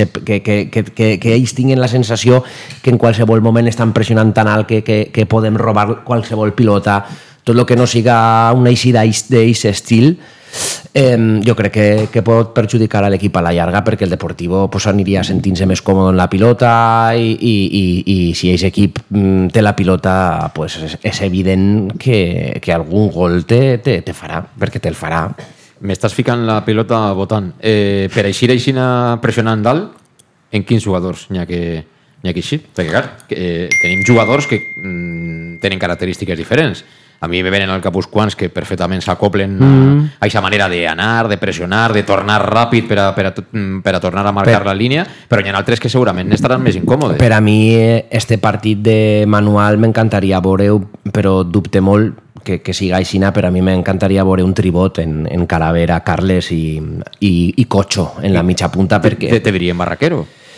ells tinguin la sensació que en qualsevol moment estan pressionant tan alt que podem robar qualsevol pilota. Tot el que no siga una eixida d'aquest estil, jo crec que pot perjudicar a l'equip a la llarga, perquè el Deportivo aniria sentint-se més còmode en la pilota i si aquest equip té la pilota és evident que algun gol te farà, perquè te'l farà. M'estàs ficant la pilota votant. Per eixir pressionant dalt, en quins jugadors n'hi ha que eixir? Perquè clar, tenim jugadors que tenen característiques diferents. A mi me venen al cap uns quants que perfectament s'acoplen a aquesta manera d'anar, de pressionar, de tornar ràpid per a tornar a marcar la línia, però hi ha altres que segurament estaran més incòmodes. Per a mi, este partit de Manual m'encantaria veure-ho, però dubte molt que siga aixina, però a mi m'encantaria veure un tribot en Calavera, Carles i Cocho en la mitja punta. Te diríem Barraquero?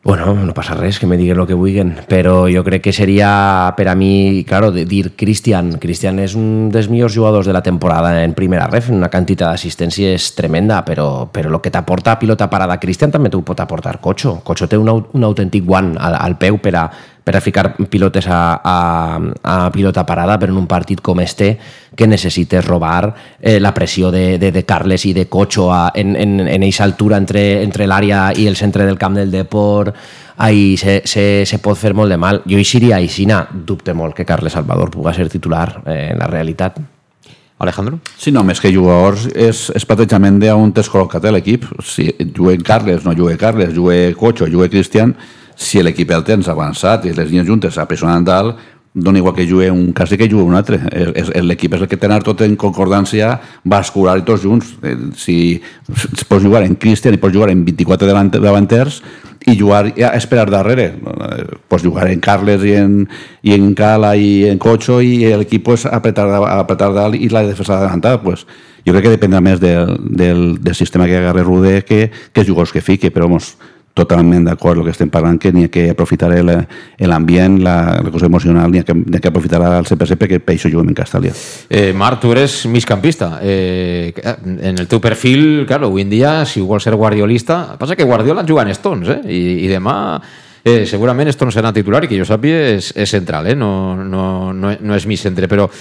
Bueno, no passa res, que me diguin el que vulguin, però jo crec que seria, per a mi, claro, de dir Cristian és un dels millors jugadors de la temporada en primera ref, una quantitat d'assistències tremenda, però el que t'aporta pilota parada Cristian també t'ho pot aportar Cocho. Cocho té un autèntic guant al peu per a ficar pilotes a pilota parada, però en un partit com este que necessites robar la pressió de Carles i de Cocho en eixa altura entre l'àrea i el centre del camp del Depor, ahí se pot fer molt de mal. Jo iria a Isina, dubte molt que Carles Salvador pugui ser titular en la realitat. Alejandro? Sí, no, més que jugadors és plantejament d'on t'has col·locat l'equip. Si jugué Carles, no jugué Carles, jugué Cocho, jugué Cristian, si l'equip el tens avançat i les línies juntes apessonant dalt, dona igual que jugui un cas que jugui un altre. L'equip és el que té tot en concordància vascular i tots junts. Si pots jugar en Cristian i pots jugar en 24 davanters i jugar a esperar darrere. Pots jugar en Carles i en Cala i en Cocho i l'equip pues, apretar dalt i la defensa adelantada. Pues, jo crec que dependrà més del sistema que agarre Rude que els jugadors que fique, però vamos, totalment d'acord amb el que estem parlant, que n'hi ha que aprofitar l'ambient, la cosa emocional, n'hi ha que aprofitar al 100% perquè per això juguem en Castellà. Marc, tu eres migcampista. En el teu perfil, claro, avui en dia, si vols ser guardiolista, passa que Guardiola juga en Stones, i demà segurament Stones serà titular i que jo sàpiga és central, no és mig centre, però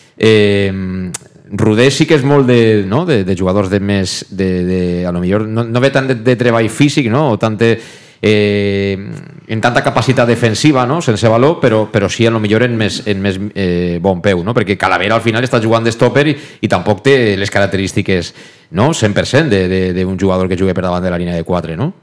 Rude sí que és molt de jugadors de més a lo millor no ve tant de treball físic, no? O tant en tanta capacitat defensiva, no? Sense valor, però sí a lo millor en més bon peu, no? Perquè Calavera al final està jugant de stopper i tampoc té les característiques 100% d'un jugador que jugui per davant de la línia de 4, no?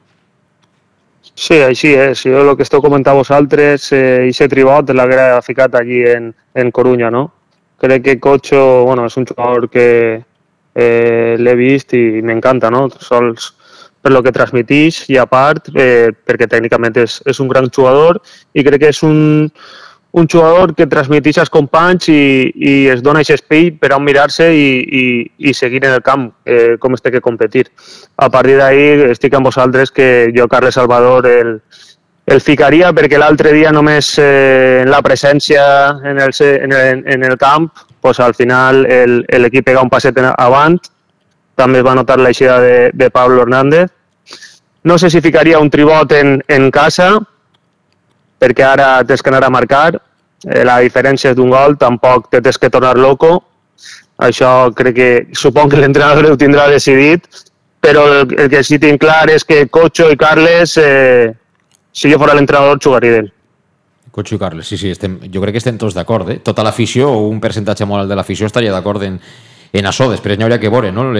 Sí, així és. Jo el que esteu comentant vosaltres, aquest tribot l'haguera ficat allí en Corunya, no? Crec que Cocho, bueno, és un jugador que l'he vist i m'encanta, no? Sols per lo que transmitix i a part perquè tècnicament és un gran jugador i crec que és un jugador que transmitix als companys i es dona aquest espai per a mirar-se i seguir en el camp com es té que competir. A partir d'ahí estic amb vosaltres que jo, Carles Salvador, el ficaria perquè l'altre dia només la presència en el camp, pues al final l'equip pega un passet avant, també es va notar l'eixida de Pablo Hernández. No sé si ficaria un tribot en casa, perquè ara tens que anar a marcar, la diferència és d'un gol, tampoc te tens que tornar loco, això crec que supon que l'entrenador ho tindrà decidit, però el que sí tinc clar és que Cocho i Carles si jo fora l'entrenador, jugaria d'ell. Cocho i Carles, sí, jo crec que estem tots d'acord. Tota l'afició, o un percentatge molt alt de l'afició, estaria d'acord en això. Després n'hi hauria que veure, no?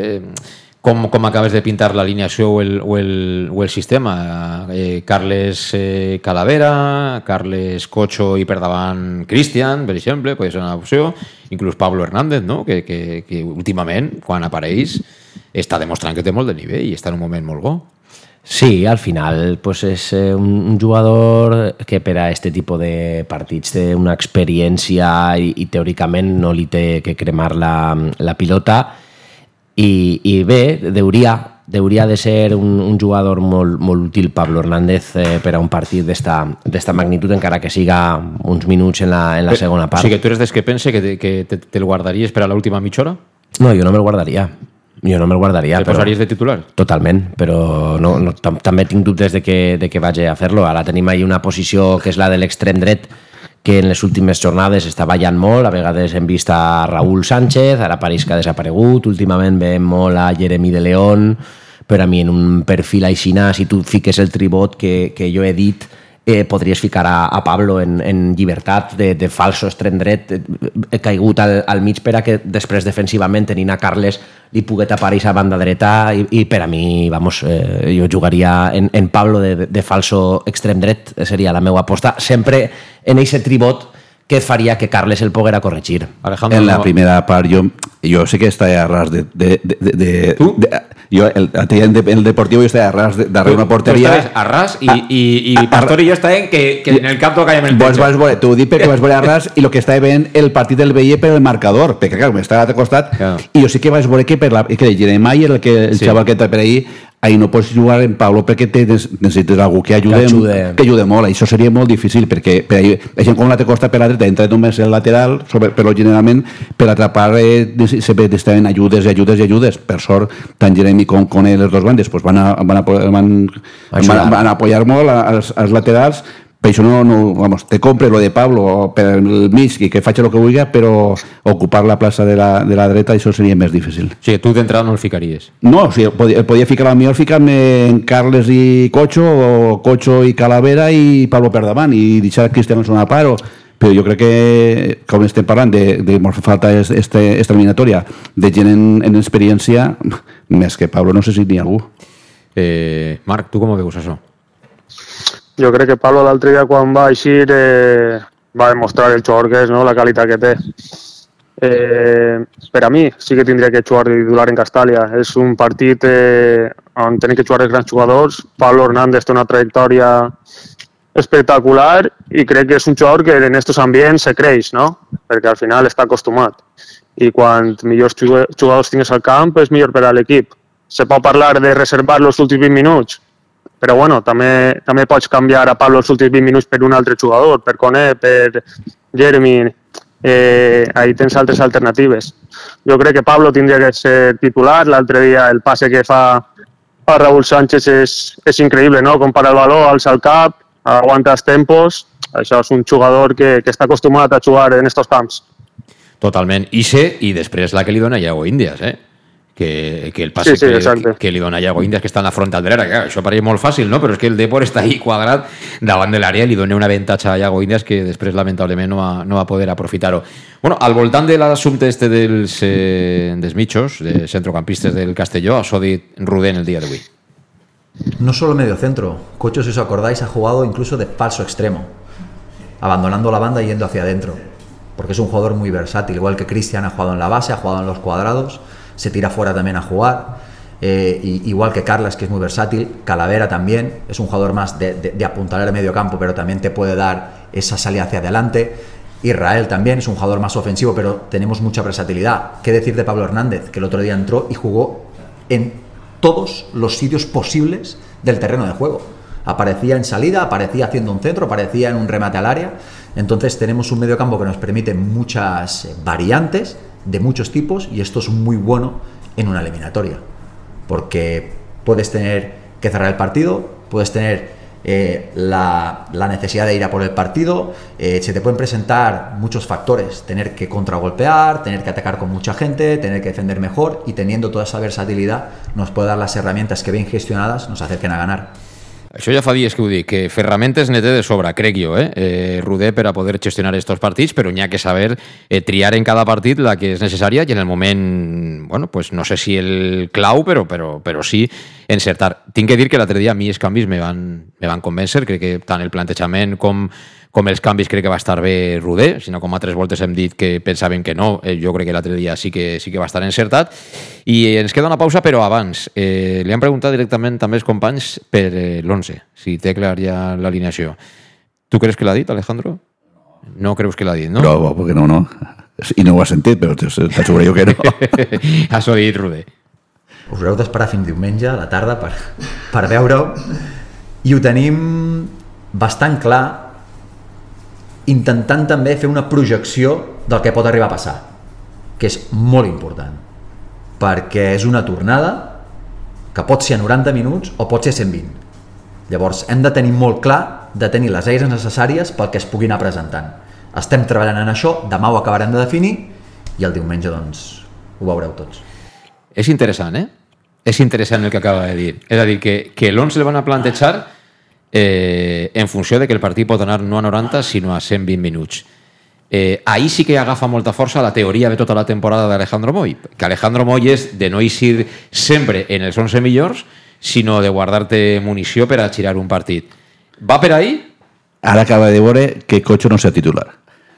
Com acabes de pintar l'alineació o el sistema. Carles Calavera, Carles Cocho i per davant Cristian, per exemple, pot ser una opció. Inclús Pablo Hernández, no? Que últimament, quan apareix, està demostrant que té molt de nivell i està en un moment molt bo. Sí, al final pues és un jugador que per a este tipus de partits té una experiència i teòricament no li té que cremar la pilota i bé, hauria de ser un jugador molt útil Pablo Hernández per a un partit d'esta magnitud, encara que siga uns minuts en la segona part. O sigui que tu eres dels que pense que te'l guardaries per a l'última mitja hora? No, jo no me'l guardaria. ¿Te posaries de titular? Totalment, però també tinc dubtes de que vagi a fer-lo. Ara tenim ahí una posició que és la de l'extrem dret, que en les últimes jornades està ballant molt. A vegades hem vist a Raúl Sánchez, ara pareix que ha desaparegut. Últimament veiem molt a Jeremy de León, però a mi en un perfil aixina, si tu fiques el tribot que jo he dit, podries ficar a Pablo en llibertat de falso extrem dret, caigut al mig per a que després defensivament tenint a Carles li pugui tapar a banda dreta i per a mi, jo jugaria en Pablo de falso extrem dret, seria la meva aposta, sempre en aquest tribot que faria que Carles el poguera corregir. Alejandro, en la primera part jo sé que està a ras jo, el Deportivo jo estava a ras darrere una porteria. Tu estaves a ras i Pastor i jo estàvem que en el camp tocàvem el techo. T'ho dic perquè vas veure a ras i el que estava veient el partit el veia per el marcador, perquè clar, m'estava al costat i jo sí que vaig veure que el Jeremiah, el xaval que està per ahí, ahir no pots jugar en Pablo perquè necessites algú que ajude molt. Això seria molt difícil perquè gent com la té costa per la dreta entra només el lateral, però generalment per atrapar sempre estaven ajudes. Per sort, tant Jeremy com Kone, les dues bandes, pues van apoyar molt als laterals. Per això te compre lo de Pablo per el mig i que faci el que vulgui, però ocupar la plaça de la dreta això seria més difícil. O sigui, tu d'entrada no el ficaries? No, o sigui, podia ficar a mi, ficar-me en Carles i Cocho, o Cocho i Calavera i Pablo per davant, i deixar Cristiano a part, però jo crec que, com estem parlant de falta esta eliminatòria de gent en experiència, més que Pablo no sé si n'hi ha algú. Marc, tu com veus això? Jo crec que Pablo l'altre dia quan va eixir va demostrar el jugador que és, no? La qualitat que té. Per a mi sí que tindria que jugar de titular en Castàlia. És un partit on tenen que jugar els grans jugadors. Pablo Hernández té una trajectòria espectacular i crec que és un jugador que en aquests ambients se creix, no? Perquè al final està acostumat. I quan millors jugadors tingues al camp és millor per a l'equip. Se pot parlar de reservar els últims 20 minuts, però bueno, també pots canviar a Pablo els últims 20 minuts per un altre jugador, per Kone, per Jeremy, ahí tens altres alternatives. Jo crec que Pablo tindria que ser titular. L'altre dia el passe que fa a Raúl Sánchez és increïble, no? Compara el baló, alça el cap, aguanta els tempos. Això és un jugador que està acostumat a jugar en estos camps. Totalment. I després la que li dona Iago Índias, que el passe que li dona Iago Índias, que està en la frontalera, que això pareix molt fàcil, no? Però és que el Depor està ahí quadrat davant de l'àrea i li dona un avantatge a Iago Índias que després lamentablement no va poder aprofitar-ho. Bueno, al voltant de l'assumpte dels mitjos, de centrocampistes del Castelló, això ha dit Rudén el dia d'avui. No solo medio centro, Cocho, si os acordáis, ha jugado incluso de falso extremo, abandonando la banda y yendo hacia adentro, porque es un jugador muy versátil, igual que Cristian ha jugado en la base, ha jugado en los cuadrados, se tira fuera también a jugar, igual que Carles, que es muy versátil. Calavera también es un jugador más de apuntalar el medio campo, pero también te puede dar esa salida hacia adelante. Israel también es un jugador más ofensivo, pero tenemos mucha versatilidad. ¿Qué decir de Pablo Hernández, que el otro día entró y jugó en todos los sitios posibles del terreno de juego? Aparecía en salida, aparecía haciendo un centro, aparecía en un remate al área. Entonces tenemos un medio campo que nos permite muchas variantes de muchos tipos, y esto es muy bueno en una eliminatoria, porque puedes tener que cerrar el partido, puedes tener la necesidad de ir a por el partido, se te pueden presentar muchos factores, tener que contragolpear, tener que atacar con mucha gente, tener que defender mejor, y teniendo toda esa versatilidad nos puede dar las herramientas que bien gestionadas nos acerquen a ganar. Això ja fa dies que ho dic, que ferramentes ne té de sobre, crec jo, Rudé, per a poder gestionar estos partits, però n'hi ha que saber triar en cada partit la que és necessària i en el moment, bueno, pues no sé si el clau, però sí encertar. Tinc que dir que l'altre dia a mi els canvis me van convèncer, crec que tant el plantejament com els canvis crec que va estar bé Rudé, sinó com altres voltes hem dit que pensàvem que no, jo crec que l'altre dia sí que va estar encertat. I ens queda una pausa, però abans li han preguntat directament també els companys per l'11, si té clar ja l'alineació. Tu creus que l'ha dit, Alejandro? No creus que l'ha dit, no? No, perquè no. I no ho has sentit, però t'asseguro jo que no. Has dit Rudé. Us haureu d'esperar fins diumenge a la tarda per veure-ho, i ho tenim bastant clar, intentant també fer una projecció del que pot arribar a passar, que és molt important, perquè és una tornada que pot ser a 90 minuts o pot ser a 120. Llavors hem de tenir molt clar de tenir les eines necessàries pel que es pugui anar presentant. Estem treballant en això, demà ho acabarem de definir i el diumenge doncs ho veureu tots. És interessant, És interessant el que acaba de dir. És a dir, que l'11 el van a plantejar en funció de que el partit pot anar no a 90 sinó a 120 minuts. Ahí sí que agafa molta força la teoria de tota la temporada d'Alejandro Moy, que Alejandro Moy és de no eixir sempre en els 11 millors, sinó de guardar-te munició per a girar un partit. Va per ahí? Ara acaba de veure que Cocho no sea titular.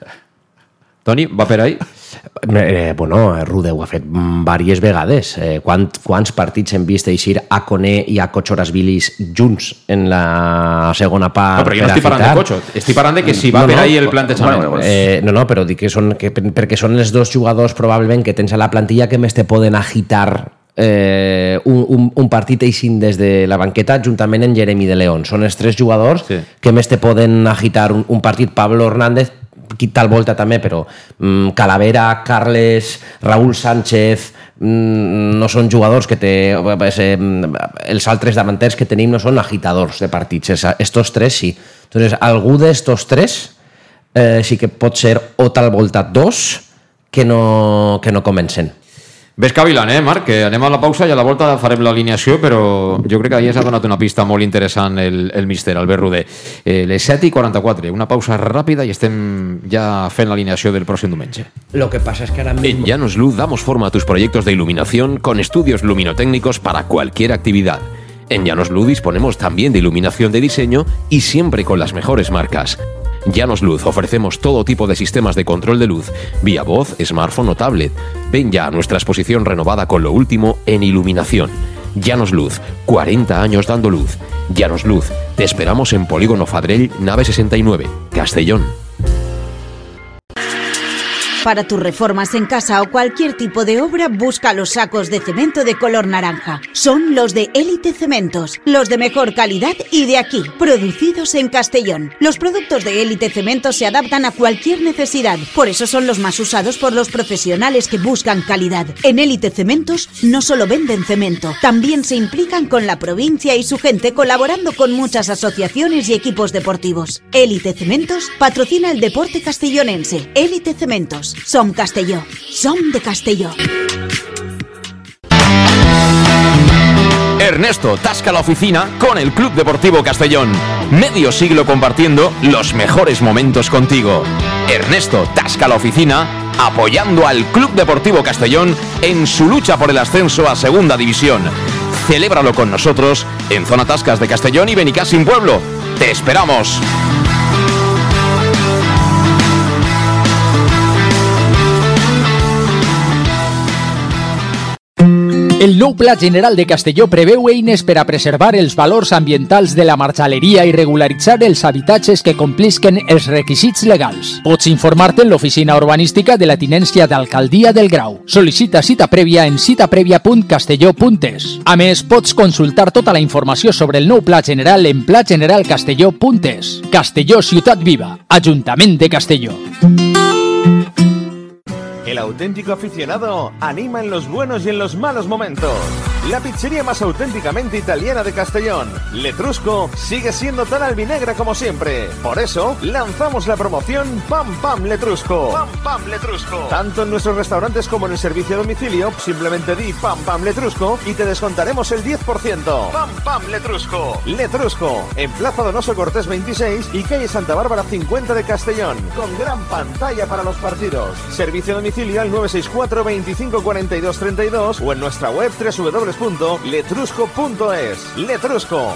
Toni, va per ahí? Bueno, Rudé ho ha fet diverses vegades. Quants partits hem vist eixir a Kone i a Cochorasvilis junts en la segona part? No, però jo no estic parlant de Cocho, estic parlant de que si va per ahí el plantejament. No, però dic que perquè són els dos jugadors probablement que tens a la plantilla que més te poden agitar un partit eixint des de la banqueta juntament amb Jeremy de León. Són els 3 jugadors que més te poden agitar un partit. Pablo Hernández, quita el volta també, però Calavera, Carles, Raúl Sánchez no són jugadors que els altres davanters que tenim no són agitadors de partits. Estos 3 sí. Entonces, algú d'estos 3 sí que pot ser o tal volta 2 que no comencen. Ves cavilant, Marc? Que anem a la pausa i a la volta farem l'alineació, però jo crec que ahir s'ha donat una pista molt interessant el míster Albert Roder. Les 7:44, una pausa ràpida i estem ja fent l'alineació del pròxim diumenge. Lo que pasa es que ahora mismo... En Llanos Luz damos forma a tus proyectos de iluminación con estudios luminotécnicos para cualquier actividad. En Llanos Luz disponemos también de iluminación de diseño y siempre con las mejores marcas. Llanos Luz ofrecemos todo tipo de sistemas de control de luz, vía voz, smartphone o tablet. Ven ya a nuestra exposición renovada con lo último en iluminación. Llanos Luz, 40 años dando luz. Llanos Luz, te esperamos en Polígono Fadrell, nave 69, Castellón. Para tus reformas en casa o cualquier tipo de obra, busca los sacos de cemento de color naranja. Son los de Élite Cementos, los de mejor calidad y de aquí, producidos en Castellón. Los productos de Élite Cementos se adaptan a cualquier necesidad, por eso son los más usados por los profesionales que buscan calidad. En Élite Cementos no solo venden cemento, también se implican con la provincia y su gente, colaborando con muchas asociaciones y equipos deportivos. Élite Cementos patrocina el deporte castellonense. Élite Cementos. Som Castelló. Som de Castelló. Ernesto tasca la oficina con el Club Deportivo Castellón. Medio siglo compartiendo los mejores momentos contigo. Ernesto tasca la oficina apoyando al Club Deportivo Castellón en su lucha por el ascenso a Segunda División. Celébralo con nosotros en Zona Tascas de Castellón y Benicàssim Pueblo. ¡Te esperamos! El nou Pla General de Castelló preveu eines per a preservar els valors ambientals de la marxaleria i regularitzar els habitatges que complisquen els requisits legals. Pots informar-te en l'oficina urbanística de la tinència d'Alcaldia del Grau. Sol·licita cita prèvia en citaprevia.castelló.es. A més, pots consultar tota la informació sobre el nou Pla General en plageneralcastelló.es. Castelló, ciutat viva. Ajuntament de Castelló. El auténtico aficionado anima en los buenos y en los malos momentos. La pizzería más auténticamente italiana de Castellón, Letrusco, sigue siendo tan albinegra como siempre. Por eso, lanzamos la promoción Pam Pam Letrusco. Pam Pam Letrusco. Tanto en nuestros restaurantes como en el servicio a domicilio, simplemente di Pam Pam Letrusco y te descontaremos el 10%. Pam Pam Letrusco. Letrusco, en Plaza Donoso Cortés 26 y calle Santa Bárbara 50 de Castellón, con gran pantalla para los partidos. Servicio a domicilio al 964 25 42 32 o en nuestra web www.letrusco.es. Letrusco.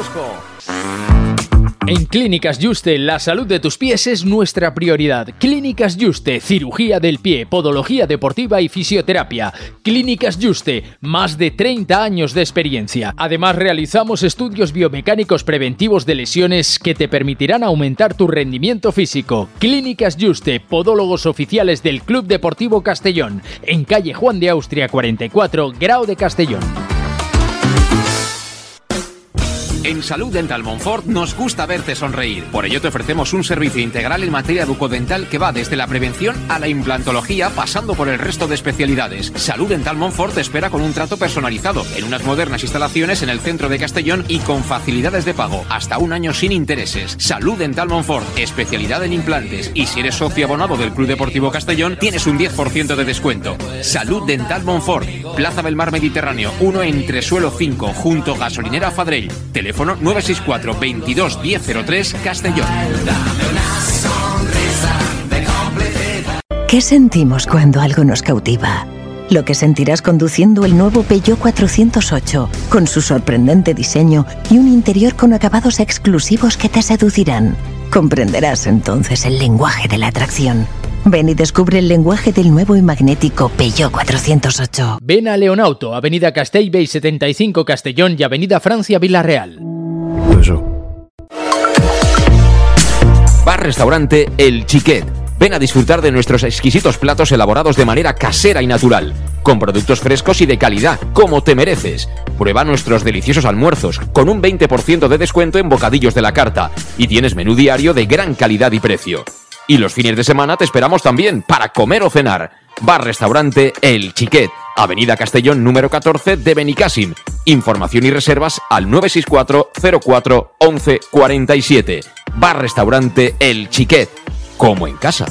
En Clínicas Juste, la salud de tus pies es nuestra prioridad. Clínicas Juste, cirugía del pie, podología deportiva y fisioterapia. Clínicas Juste, más de 30 años de experiencia. Además, realizamos estudios biomecánicos preventivos de lesiones que te permitirán aumentar tu rendimiento físico. Clínicas Juste, podólogos oficiales del Club Deportivo Castellón, en calle Juan de Austria 44, Grau de Castellón. En Salud Dental Montfort nos gusta verte sonreír. Por ello te ofrecemos un servicio integral en materia bucodental que va desde la prevención a la implantología, pasando por el resto de especialidades. Salud Dental Montfort te espera con un trato personalizado en unas modernas instalaciones en el centro de Castellón y con facilidades de pago, hasta un año sin intereses. Salud Dental Montfort, especialidad en implantes. Y si eres socio abonado del Club Deportivo Castellón, tienes un 10% de descuento. Salud Dental Montfort, Plaza del Mar Mediterráneo, 1 Entresuelo 5, junto Gasolinera Fadrell. Teléfono 964 22 1003 Castellón. ¿Qué sentimos cuando algo nos cautiva? Lo que sentirás conduciendo el nuevo Peugeot 408, con su sorprendente diseño y un interior con acabados exclusivos que te seducirán. Comprenderás entonces el lenguaje de la atracción. Ven y descubre el lenguaje del nuevo y magnético Peugeot 408. Ven a Leonauto, Avenida Castellbey 75 Castellón y Avenida Francia Villarreal. Bar-restaurante El Xiquet. Ven a disfrutar de nuestros exquisitos platos elaborados de manera casera y natural. con productos frescos y de calidad, como te mereces. Prueba nuestros deliciosos almuerzos, con un 20% de descuento en bocadillos de la carta, y tienes menú diario de gran calidad y precio. Y los fines de semana te esperamos también para comer o cenar. Bar-restaurante El Xiquet, Avenida Castellón número 14 de Benicàssim. Información y reservas al 964 04 11 47. Bar-restaurante El Xiquet, como en casa.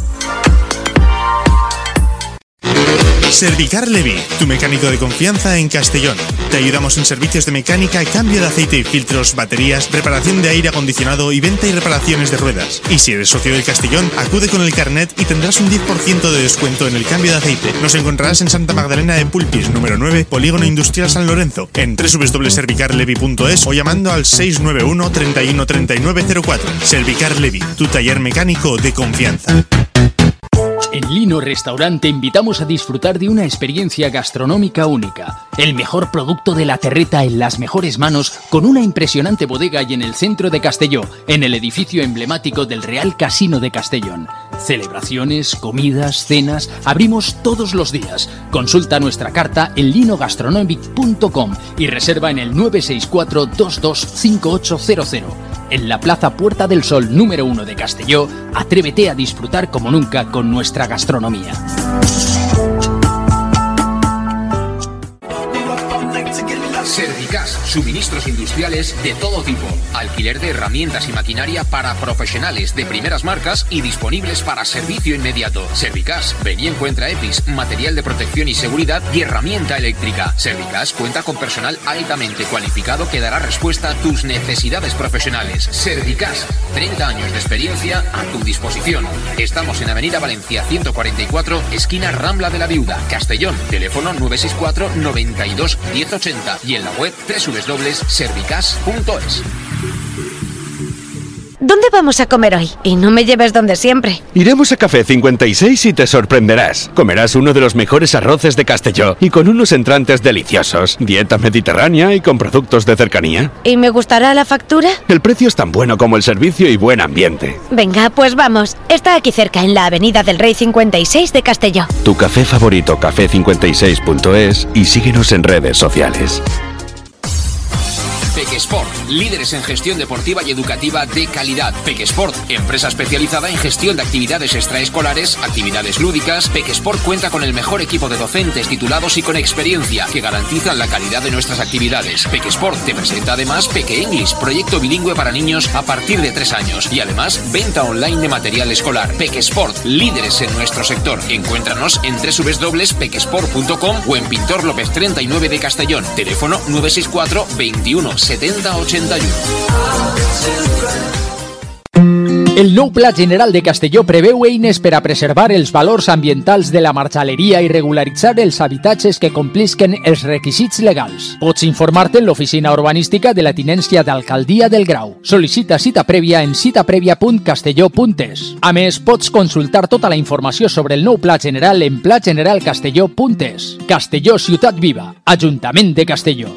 Servicar Levi, tu mecánico de confianza en Castellón. Te ayudamos en servicios de mecánica, cambio de aceite y filtros, baterías, reparación de aire acondicionado y venta y reparaciones de ruedas. Y si eres socio del Castellón, acude con el carnet y tendrás un 10% de descuento en el cambio de aceite. Nos encontrarás en Santa Magdalena de Pulpis, número 9, Polígono Industrial San Lorenzo, en www.servicarlevi.es o llamando al 691 31 39 04. Servicar Levi, tu taller mecánico de confianza. En Lino Restaurant te invitamos a disfrutar de una experiencia gastronómica única. El mejor producto de la terreta en las mejores manos, con una impresionante bodega y en el centro de Castelló, en el edificio emblemático del Real Casino de Castellón. Celebraciones, comidas, cenas, abrimos todos los días. Consulta nuestra carta en linogastronomic.com y reserva en el 964 225800. En la Plaza Puerta del Sol número 1 de Castelló, atrévete a disfrutar como nunca con nuestra gastronomía. Servicas, suministros industriales de todo tipo, alquiler de herramientas y maquinaria para profesionales de primeras marcas y disponibles para servicio inmediato. Servicas, ven y encuentra EPIs, material de protección y seguridad y herramienta eléctrica. Servicas cuenta con personal altamente cualificado que dará respuesta a tus necesidades profesionales. Servicas, 30 años de experiencia a tu disposición. Estamos en Avenida Valencia 144, esquina Rambla de la Viuda, Castellón. Teléfono 964 92 1080 y en la web www.servicas.es. ¿Dónde vamos a comer hoy? Y no me lleves donde siempre. Iremos a Café 56 y te sorprenderás. Comerás uno de los mejores arroces de Castelló y con unos entrantes deliciosos. Dieta mediterránea y con productos de cercanía. ¿Y me gustará la factura? El precio es tan bueno como el servicio y buen ambiente. Venga, pues vamos. Está aquí cerca, en la Avenida del Rey 56 de Castelló. Tu café favorito, café56.es, y síguenos en redes sociales. Pequesport, líderes en gestión deportiva y educativa de calidad. Pequesport, empresa especializada en gestión de actividades extraescolares, actividades lúdicas. Pequesport cuenta con el mejor equipo de docentes titulados y con experiencia que garantizan la calidad de nuestras actividades. Pequesport te presenta además Peque English, proyecto bilingüe para niños a partir de 3 años y además venta online de material escolar. Pequesport, líderes en nuestro sector. Encuéntranos en www.pequesport.com o en Pintor López 39 de Castellón. Teléfono 964 21 70 81. El nou Pla General de Castelló preveu eines per a preservar els valors ambientals de la marxaleria i regularitzar els habitatges que complisquen els requisits legals. Pots informar-te en l'oficina urbanística de la tinència d'Alcaldia del Grau. Sol·licita cita prèvia en citaprèvia.castelló.es. A més, pots consultar tota la informació sobre el nou Pla General en plageneralcastelló.es. Castelló, ciutat viva. Ajuntament de Castelló.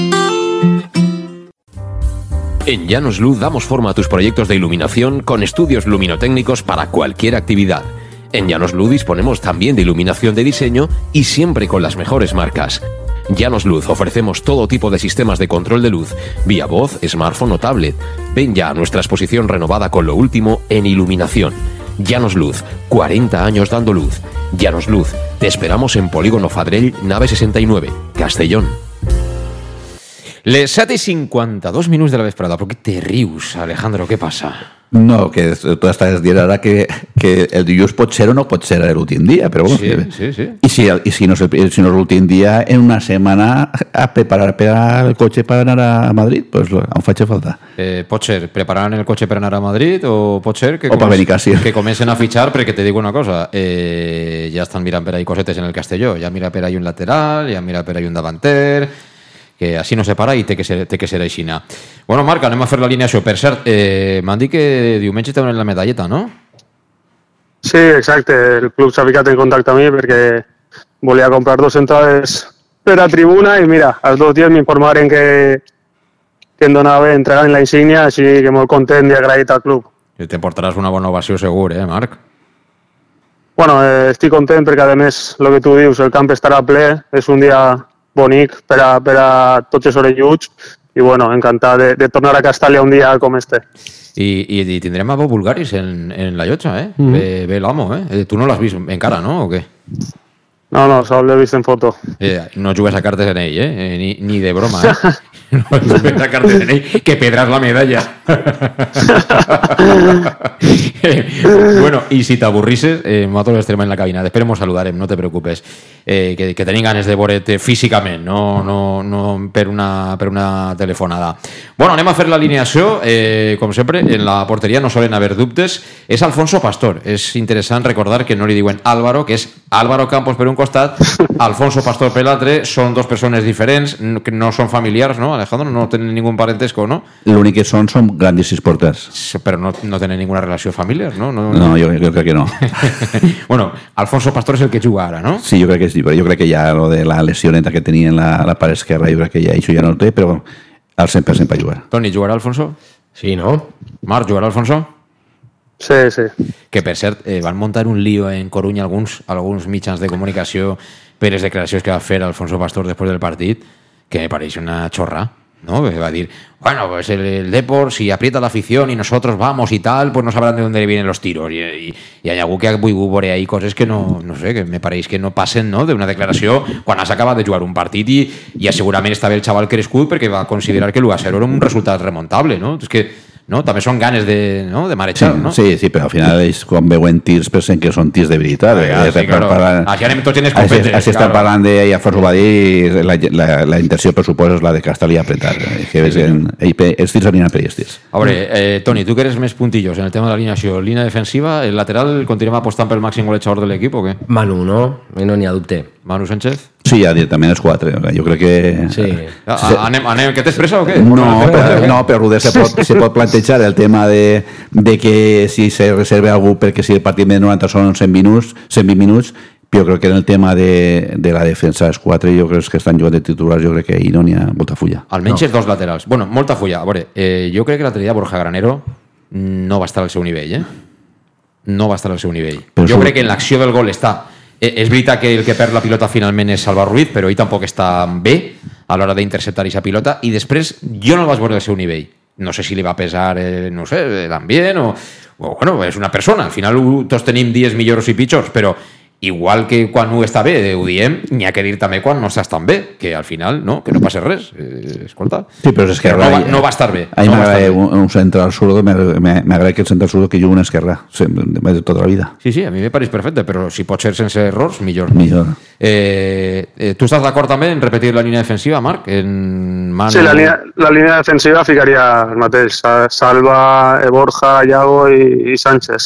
En Llanos Luz damos forma a tus proyectos de iluminación con estudios luminotécnicos para cualquier actividad. En Llanos Luz disponemos también de iluminación de diseño y siempre con las mejores marcas. Llanos Luz ofrecemos todo tipo de sistemas de control de luz, vía voz, smartphone o tablet. Ven ya a nuestra exposición renovada con lo último en iluminación. Llanos Luz, 40 años dando luz. Llanos Luz, te esperamos en Polígono Fadrell, nave 69, Castellón. Les 7:52 minuts de la vesprada. ¿Por qué te rius, Alejandro? Què passa? No, que tu estàs dient ara que el dilluns pot ser o no pot ser l'últim dia, però bueno, sí. I si no és l'últim dia, en una setmana a preparar per el cotxe per anar a Madrid, pues em faig falta. Pot ser preparant el cotxe per anar a Madrid o pot ser que comencen a fitxar, perquè te dic una cosa, ja estan mirant per ahí cosetes en el Castelló, ja mira per ahí un lateral, ja mira per ahí un davanter, que així no se para i té que ser aixina. Bueno, Marc, anem a fer l'alineació. Per cert, m'han dit que diumenge te donen la medalleta, no? Sí, exacte. El club s'ha ficat en contacte amb mi perquè volia comprar 2 entrades per a tribuna i mira, als 2 dies m'informaren que em donava entregant la insígnia, així que molt content i agraït al club. Te portaràs una bona ovació segur, Marc? Bueno, estic content perquè, a més, el que tu dius, el camp estarà ple, és un dia bonic per a tots els orelluts i, bueno, encantat de tornar a Castalla un dia com este. I tindrem a Bob Bulgaris en la llotja, eh? Ve l'amo, eh? Tu no l'has vist encara, no? O què? No, sol l'he vist en foto. No jugues a cartes en ell, eh? Ni de broma, eh? No jugues a cartes en ell, que pedràs la medalla. Bueno, y si t'avorrisses, nosaltres estarem en la cabina. Després mos saludarem, no te preocupes. Que tenim ganes de veure't físicament, no per una telefonada. Bueno, anem a fer l'alineació. Com sempre, en la porteria no solen haver dubtes. És Alfonso Pastor. És interessant recordar que no li diuen Álvaro, que és Álvaro Campos per un costat, Alfonso Pastor per l'altre. Són dos persones diferents, que no són familiars, no, Alejandro? No tenen ningún parentesco, no? L'únic que són grandíssims porters. Però no tenen ninguna relació familiar, no? No, jo crec que no. Bueno, Alfonso Pastor és el que juga ara, no? Sí, jo crec que sí, però jo crec que ja lo de la lesioneta que tenia en la part esquerra, jo crec que ja això ja no el té, però al 100% per jugar. Toni, jugarà Alfonso? Sí, no? Marc, jugarà Alfonso? Sí. Que, per cert, van muntar un lío en Coruña alguns mitjans de comunicació per les declaracions que va fer Alfonso Pastor després del partit, que me pareix una chorra, ¿no? Va a decir, bueno, pues el Depor, si aprieta la afición y nosotros vamos y tal, pues no sabrán de dónde vienen los tiros. Y hay algú que ha volgut ahí coses que no sé, que me pareix que no passen, no?, d'una declaració quan has acabat de jugar un partit i segurament estava el xaval crescut perquè va considerar que l'1-0 era un resultat remontable, no? És que no? També són ganes de marejar, no? Sí, però al final ells quan veuen tirs pensen que són tirs de veritat. Sí, claro. Així anem tots en escopetes. Així estan parlant de, i Alfonso va dir, la intenció per suposo és la de Castellí apretar. Els tirs aniran per ells tirs. A veure, Toni, tu que eres més puntillos en el tema de l'alineació, línia defensiva, el lateral, continuem apostant pel màxim golejador de l'equip o què? Manu, no? No n'hi ha dubte. Manu Sánchez? Sí, ja directament els 4. Jo crec que... Sí. Anem, que t'és pressa o què? No, però Ruder se pot plantejar el tema de que si se reserva algú perquè si el partit de 90 són 120 minuts, però crec que en el tema de la defensa els 4 jo crec que estan jugant de titulars, jo crec que ahir no n'hi ha molta fulla. Almenys els dos laterals. Bueno, molta fulla. A veure, jo crec que l'altre dia Borja Granero no va estar al seu nivell, No va estar al seu nivell. Jo crec que en l'acció del gol està... És veritat que el que perd la pilota finalment és Salva Ruiz, però ell tampoc està bé a l'hora d'interceptar aquesta pilota, i després jo no el vaig veure al seu nivell. No sé si li va pesar, no sé, l'ambient o bueno, és una persona. Al final tots tenim dies millors i pitjors, però igual que quan ho està bé, ho diem, n'hi ha que dir també quan no estàs tan bé, que al final, no, que no passa res. Escolta. Sí, però és esquerra. No va estar bé. A mi m'agrada un central zurdo, m'agrada que el central zurdo que jugui una esquerra, de tota la vida. Sí, a mi me pareix perfecte, però si pot ser sense errors, millor. Tu estàs d'acord també en repetir la línia defensiva, Marc? Sí, la línia defensiva ficaria el mateix. Salva, Borja, Iago i Sánchez.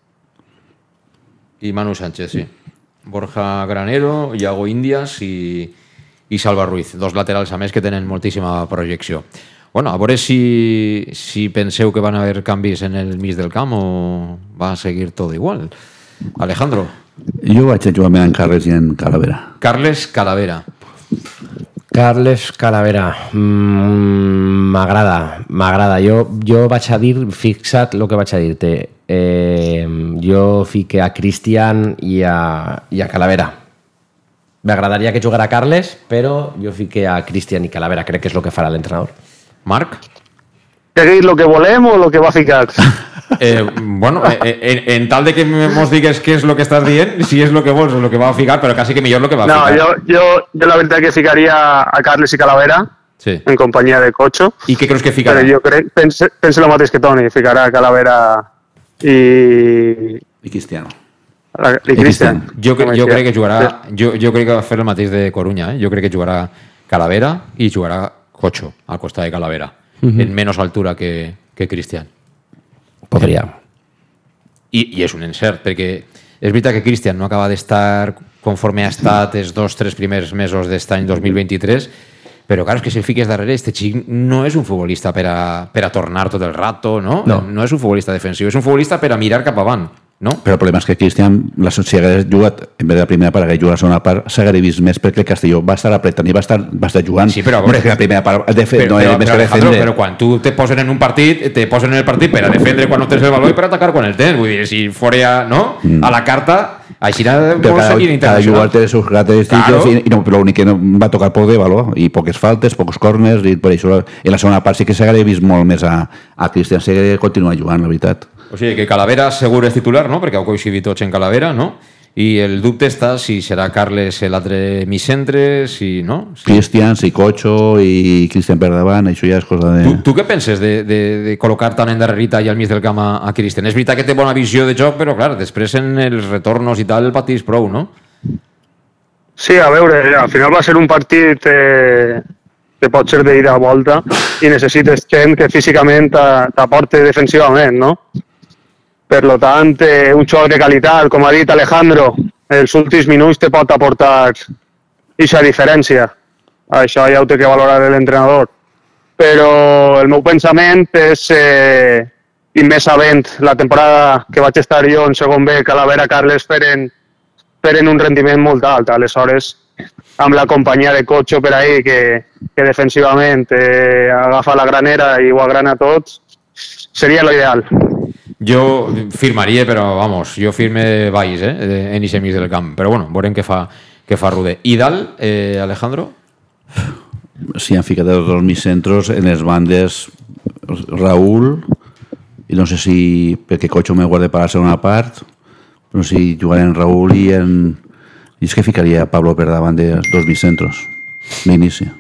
I Manu Sánchez, sí. Borja Granero, Iago Índias i Salva Ruiz, dos laterals a més que tenen moltíssima projecció. Bueno, a veure si penseu que van haver canvis en el mig del camp o va seguir tot igual. Alejandro. Jo vaig a jugar en Carles i en Calavera. Carles Calavera. Carles Calavera, m'agrada. Jo vaig a dir, fixa't el que vaig a dir-te. Jo fique a Cristian i a Calavera. M'agradaria que jugara Carles, però jo fique a Cristian i Calavera. Crec que és el que farà l'entrenador. Marc? ¿Qué es lo que volem o lo que va a ficar? Bueno, en tal de que mos digues què és lo que estàs dient, si és lo que vols o lo que va a ficar, però quasi que millor lo que va a ficar. No, yo la verdad que ficaría a Carles y Calavera, sí, en compañía de Cocho. ¿Y qué crees que ficarà? Pero yo pense lo mateix que Toni, ficarà a Calavera i Cristiano. I Cristian. Jo crec que jugarà... Jo crec que va fer el mateix de Coruña, Jo crec que jugarà Calavera i jugarà Cocho al costat de Calavera, en menys altura que Cristian. Podria. I és un encert, perquè és veritat que Cristian no acaba d'estar conforme ha estat els 2-3 primers mesos d'aquest any 2023, però clar, és que si el fiques darrere, este xic no és un futbolista per a tornar tot el rato, no? No és un futbolista defensiu, és un futbolista per a mirar cap avant, no? Però el problema és que Cristian, si hagués jugat, en vez de la primera part, hagués jugat la segona part, s'hagués vist més perquè el Castelló va estar apretant i va estar jugant. Sí, però a veure, la primera part no era més que defendre. Però quan tu te posen en un partit, te posen en el partit per a defendre quan no tens el valor i per atacar quan el tens. Vull dir, si fora a la carta, Així cada jugador té les seves característiques i l'únic que no va tocar poc de valor i poques faltes, pocs corners i per això en la segona part sí que s'hagués vist molt més a Cristian Segué continuar jugant, la veritat. O sigui que Calavera segur és titular, no? Perquè heu coincidit tots en Calavera, no? I el dubte està si serà Carles l'altre micentre, si no? Sí. Cristian, si Cocho i Cristian per davant, això ja és cosa de... Tu què penses de col·locar tan endarrerita i al mig del camp a Cristian? És veritat que té bona visió de joc, però clar, després en els retornos i tal el patís prou, no? Sí, a veure, al final va ser un partit que pot ser d'ida a volta i necessites gent que físicament t'aporte defensivament, no? Per tant, un xoc de qualitat, com ha dit Alejandro, els últims minuts te pot aportar aquesta diferència. Això ja ho té que valorar l'entrenador. Però el meu pensament és, i més sabent la temporada que vaig estar jo en segon B, Calavera, Carles, feren un rendiment molt alt. Aleshores, amb la companyia de Cocho per ahí, que defensivament agafa la granera i ho agrana tot, seria l'ideal. Jo firmaria, però vamos, jo firme Valls, en aquest mig del camp. Però bueno, veurem què fa Rude. I dalt, Alejandro? Sí, han ficat els dos migcentros en les bandes Raúl, i no sé si perquè Cocho me guarda per la segona part, però si jugaren Raúl i és que ficaria Pablo per davant de dos migcentros d'inici.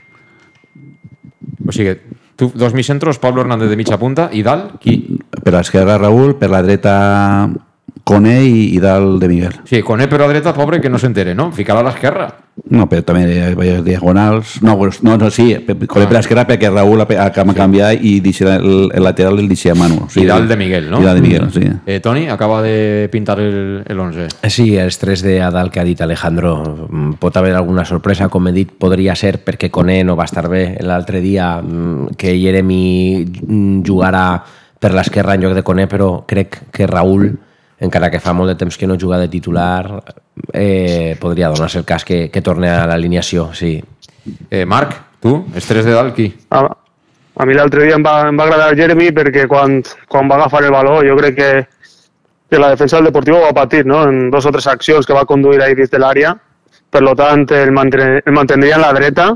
O sigui, tu, dos migcentros, Pablo Hernández de mitja punta, i dalt, qui? Per l'esquerra Raúl, per la dreta Coné i dalt de Miguel. Sí, Coné per la dreta, pobre, que no s'entere, no? Ficar-la a l'esquerra. No, però també diagonals. No, sí, Coné per l'esquerra perquè Raúl acaba de canviar i el lateral el deixa a Manu. I dalt de Miguel, no? I dalt de Miguel, sí. Toni, acaba de pintar el 11. Sí, els 3 de dalt que ha dit Alejandro. Pot haver alguna sorpresa, com he dit, podria ser perquè Coné no va estar bé l'altre dia, que Jeremy jugarà per l'esquerra en lloc de Coné, però crec que Raúl, encara que fa molt de temps que no juga de titular, podria donar-se el cas que torni a l'alineació, sí. Marc, tu, els 3 de dalt, qui? A mi l'altre dia em va agradar Jeremy perquè quan va agafar el baló jo crec que la defensa del Deportivo va patir, no? En 2 o 3 accions que va conduir ahí dins de l'àrea. Per tant, el mantindria en la dreta,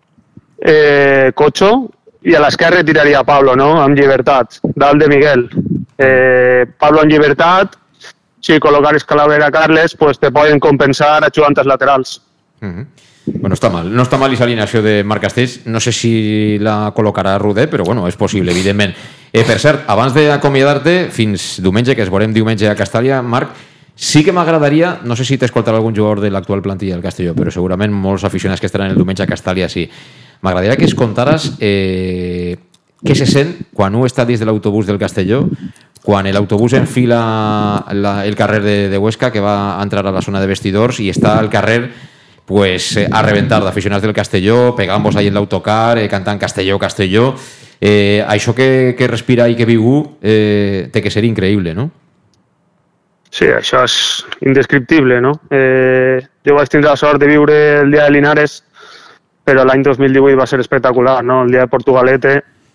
Cocho, i a l'esquerra tiraria Pablo, no? Amb llibertat, dalt de Miguel. Pablo en llibertat, si col·locares Calavera a Carles, pues te poden compensar ajudant els laterals. Bueno, està mal. No està mal aquesta alineació de Marc Castells. No sé si la col·locarà Rude, però bueno, és possible, evidentment. Per cert, abans d'acomiadar-te, fins diumenge, que es veurem diumenge a Castàlia, Marc, sí que m'agradaria, no sé si t'escoltarà algun jugador de l'actual plantilla del Castelló, però segurament molts aficionats que estaran el diumenge a Castàlia sí. M'agradaria que es contares què se sent quan un està dins de l'autobús del Castelló, quan l'autobús enfila el carrer de Huesca, que va entrar a la zona de vestidors, i està al carrer pues, a reventar d'aficionats del Castelló, pegant-vos ahí en l'autocar, cantant Castelló, Castelló. Això que respira i que viu té que ser increïble, no? Sí, això és indescriptible, no? Jo vaig tindre la sort de viure el dia de Linares, però l'any 2018 va ser espectacular, no? El dia de Portugalete,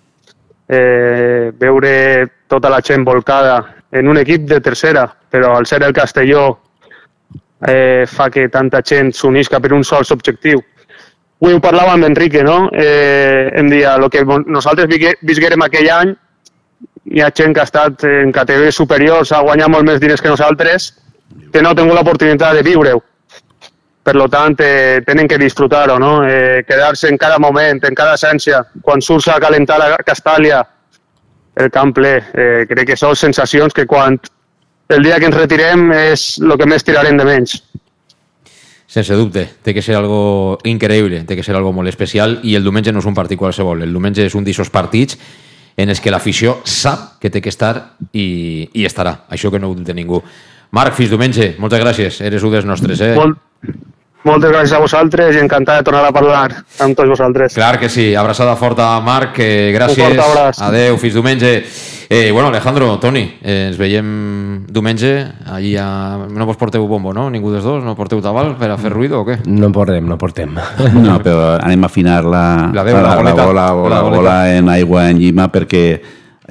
veure tota la gent volcada en un equip de tercera, però al ser el Castelló fa que tanta gent s'unisca per un sol objectiu. Avui ho parlava amb Enrique, no? Em deia, el que nosaltres visquérem aquell any, hi ha gent que ha estat en categories superiors, ha guanyat molt més diners que nosaltres, que no ha tingut l'oportunitat de viure-ho. Per tant, tenen que disfrutar-ho, no? Quedar-se en cada moment, en cada essència. Quan surts a calentar a Castàlia, el camp ple, crec que són sensacions que quan el dia que ens retirem és el que més tirarem de menys. Sense dubte, té que ser algo increïble, té que ser algo molt especial, i el diumenge no és un partit qualsevol, el diumenge és un d'aquests partits en els que l'afició sap que té que estar i estarà, això que no ho dubte ningú. Marc, fins diumenge, moltes gràcies, eres un dels nostres. Moltes gràcies a vosaltres i encantat de tornar a parlar amb tots vosaltres. Clar que sí, abraçada forta, Marc, gràcies. Un fort abraç. Adeu, fins diumenge. Bueno, Alejandro, Toni, ens veiem diumenge. Allí no vos porteu bombo, no? Ningú dels dos? No porteu tabal per a fer ruïdo o què? No portem. No, però anem a afinar la bola en aigua en llima perquè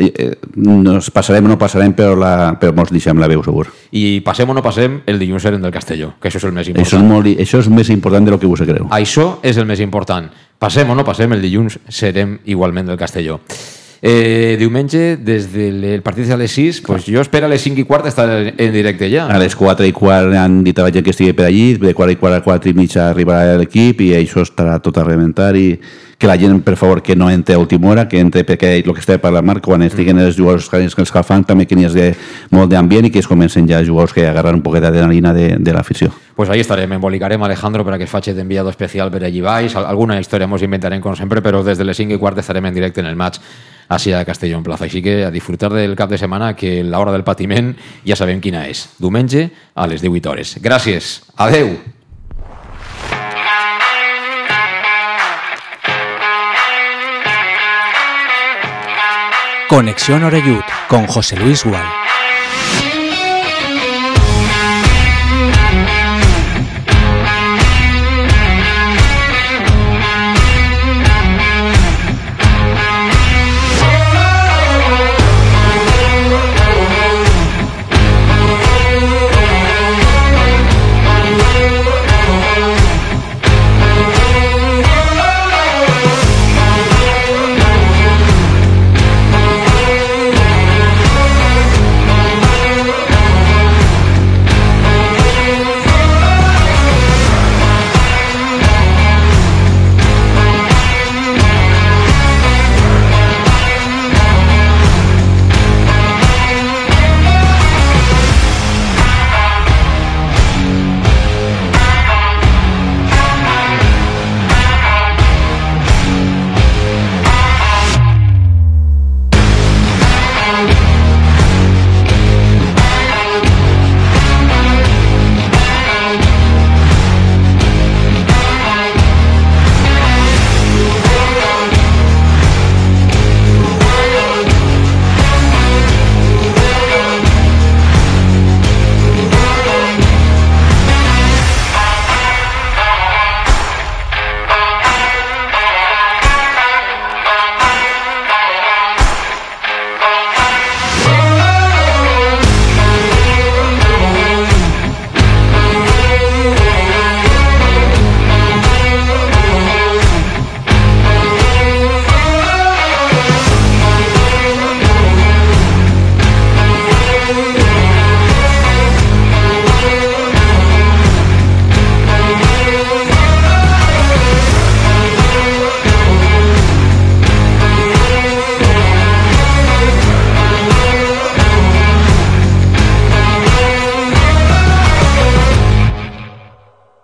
nos passarem o no passarem, però ens deixem la veu segur. I passem o no passem, el dilluns serem del Castelló, que això és el més important. Això és més important de lo que vostè creu. Això és el més important. Passem o no passem, el dilluns serem igualment del Castelló. Diumenge, des del partit a les 6, pues jo espero a les 5:15 estar en directe ja. A les 4:15 han dit a la gent que estigui per allí, de 4:15 a 4:30 arribarà l'equip i això estarà tot a reventar i que la gent, per favor, que no entre a última hora, que entre perquè el que està per la marca, quan estiguen els jugadors que els fan, també que n'hi hagi molt d'ambient i que es comencen ja jugadors que agarren un poquet d'adrenalina de l'afició. Pues ahí estarem, embolicarem Alejandro per a que es faci d'enviado especial per allí baix, alguna història ens inventarem com sempre, però des de les 5:15 estarem en directe en el match hacia a Castelló en plaça. Així que a disfrutar del cap de setmana, que l'hora del patiment ja sabem quina és. Diumenge a les 18 hores. Gràcies. Adeu. Conexión Oreyud con José Luis Gual.